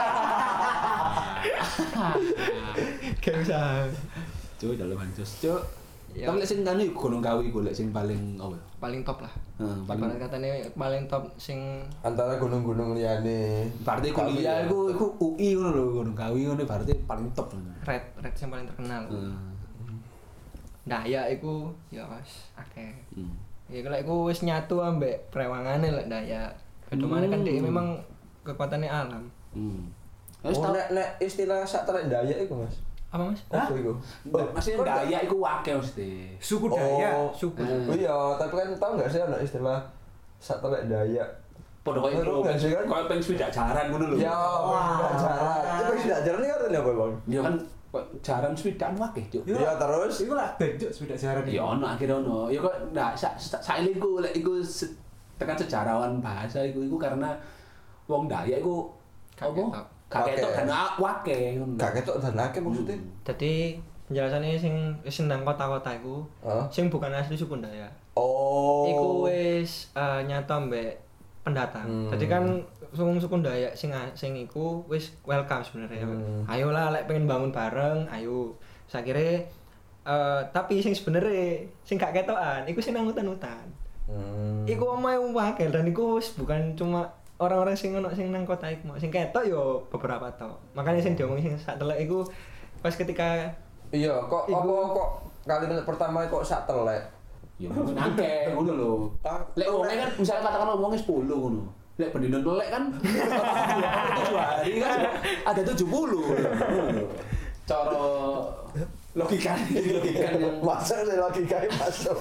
kayak usaha. Cuk, dalu bancos, Cuk. Ya. Tapi lek sing kanu iku Gunung Kawi iku lek sing paling apa? Paling top lah. Heeh, paling Ibarat katanya paling top sing Antara gunung-gunung liyane. berarti Kawi kuliah ya. iku iku U I ngono lho, Gunung Kawi ngono berarti paling top ngono. red red sing paling terkenal. Heeh. Dayak iku ya wis akeh. Hmm. Ya kalau iku wis nyatu ambek prewangane lek Dayak. Kedumane kan dia Hmm. memang kekuatannya alam. Hmm. Wis Oh, tau nek nek istilah sak terek Dayak iku, Mas. Apa Mas? Apa iku? maksudnya Dayak iku akeh mesti. Suku Dayak. Oh, suku. Oh iya, tapi kan tau enggak sih ada istilah sak terek Dayak? Padha koyo Terus nggak sih kan? koyo peng swidak jaran ngono lho. Ya, wah, jalan. Itu sudah jalan ini artinya apa, Bang? Ya kan kok jaran swidak akeh, Cuk. Yo. Ya terus Iku lah benjuk sepeda jaran. Ya ono akhirnya ono. Ya kok nah sa sa saile iku lek iku se- tekan sejarawan bahasa iku iku karena wong Dayak iku Gak Apa? ketok. Gak ketok Wake. dan a- wake ngono. Gak ketok dan akeh maksudnya. Jadi penjelasannya sing wis nang kota-kota iku, Hah? sing bukan asli suku Dayak. Oh. Iku wis eh, nyata mbek pendatang. Hmm. Jadi kan suku-suku Dayak sing sing iku wis welcome sebenarnya. Hmm. Ayolah lek pengen bangun bareng, ayo. Sakire eh tapi sing sebenarnya sing gak ketokan iku sing nang hutan-hutan. Hmm. Iku omahe wakil dan iku wis bukan cuma orang-orang sing ono sing nang kota iku, sing ketok yo beberapa tok. Makanya sing diomongin sing sak telek iku pas ketika Iya, kok Iku- apa kok kalimat pertama kok sak telek? Ya nangke ngono lho. Lek wong kan misalnya katakan ngomongnya sepuluh ngono. Lek pendino telek kan tujuh hari kan ada tujuh puluh. Cara logika logika yang Masuk sih logikanya masuk.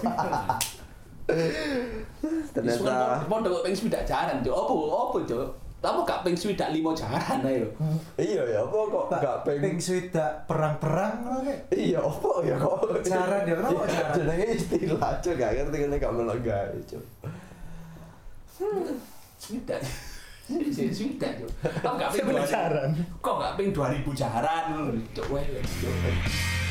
Ternyata Ternyata podo pengen swidak jaran, Cuk. Apa apa, Cuk? Apa gak pengen swidak lima jaran ae lho. iya ya apa kok gak Ping pengen swidak perang-perang ngono kae. iya apa ya kok Jaran ya, kenapa jaran? jenenge istilah cuk gak ngerti kene gak melok gawe cuk. Swidak. Sih swidak, Cuk. Kok gak pengen Sebenarnya dua ribu jaran. Kok gak pengen dua ribu jaran ngono, Cuk. Wes, Cuk.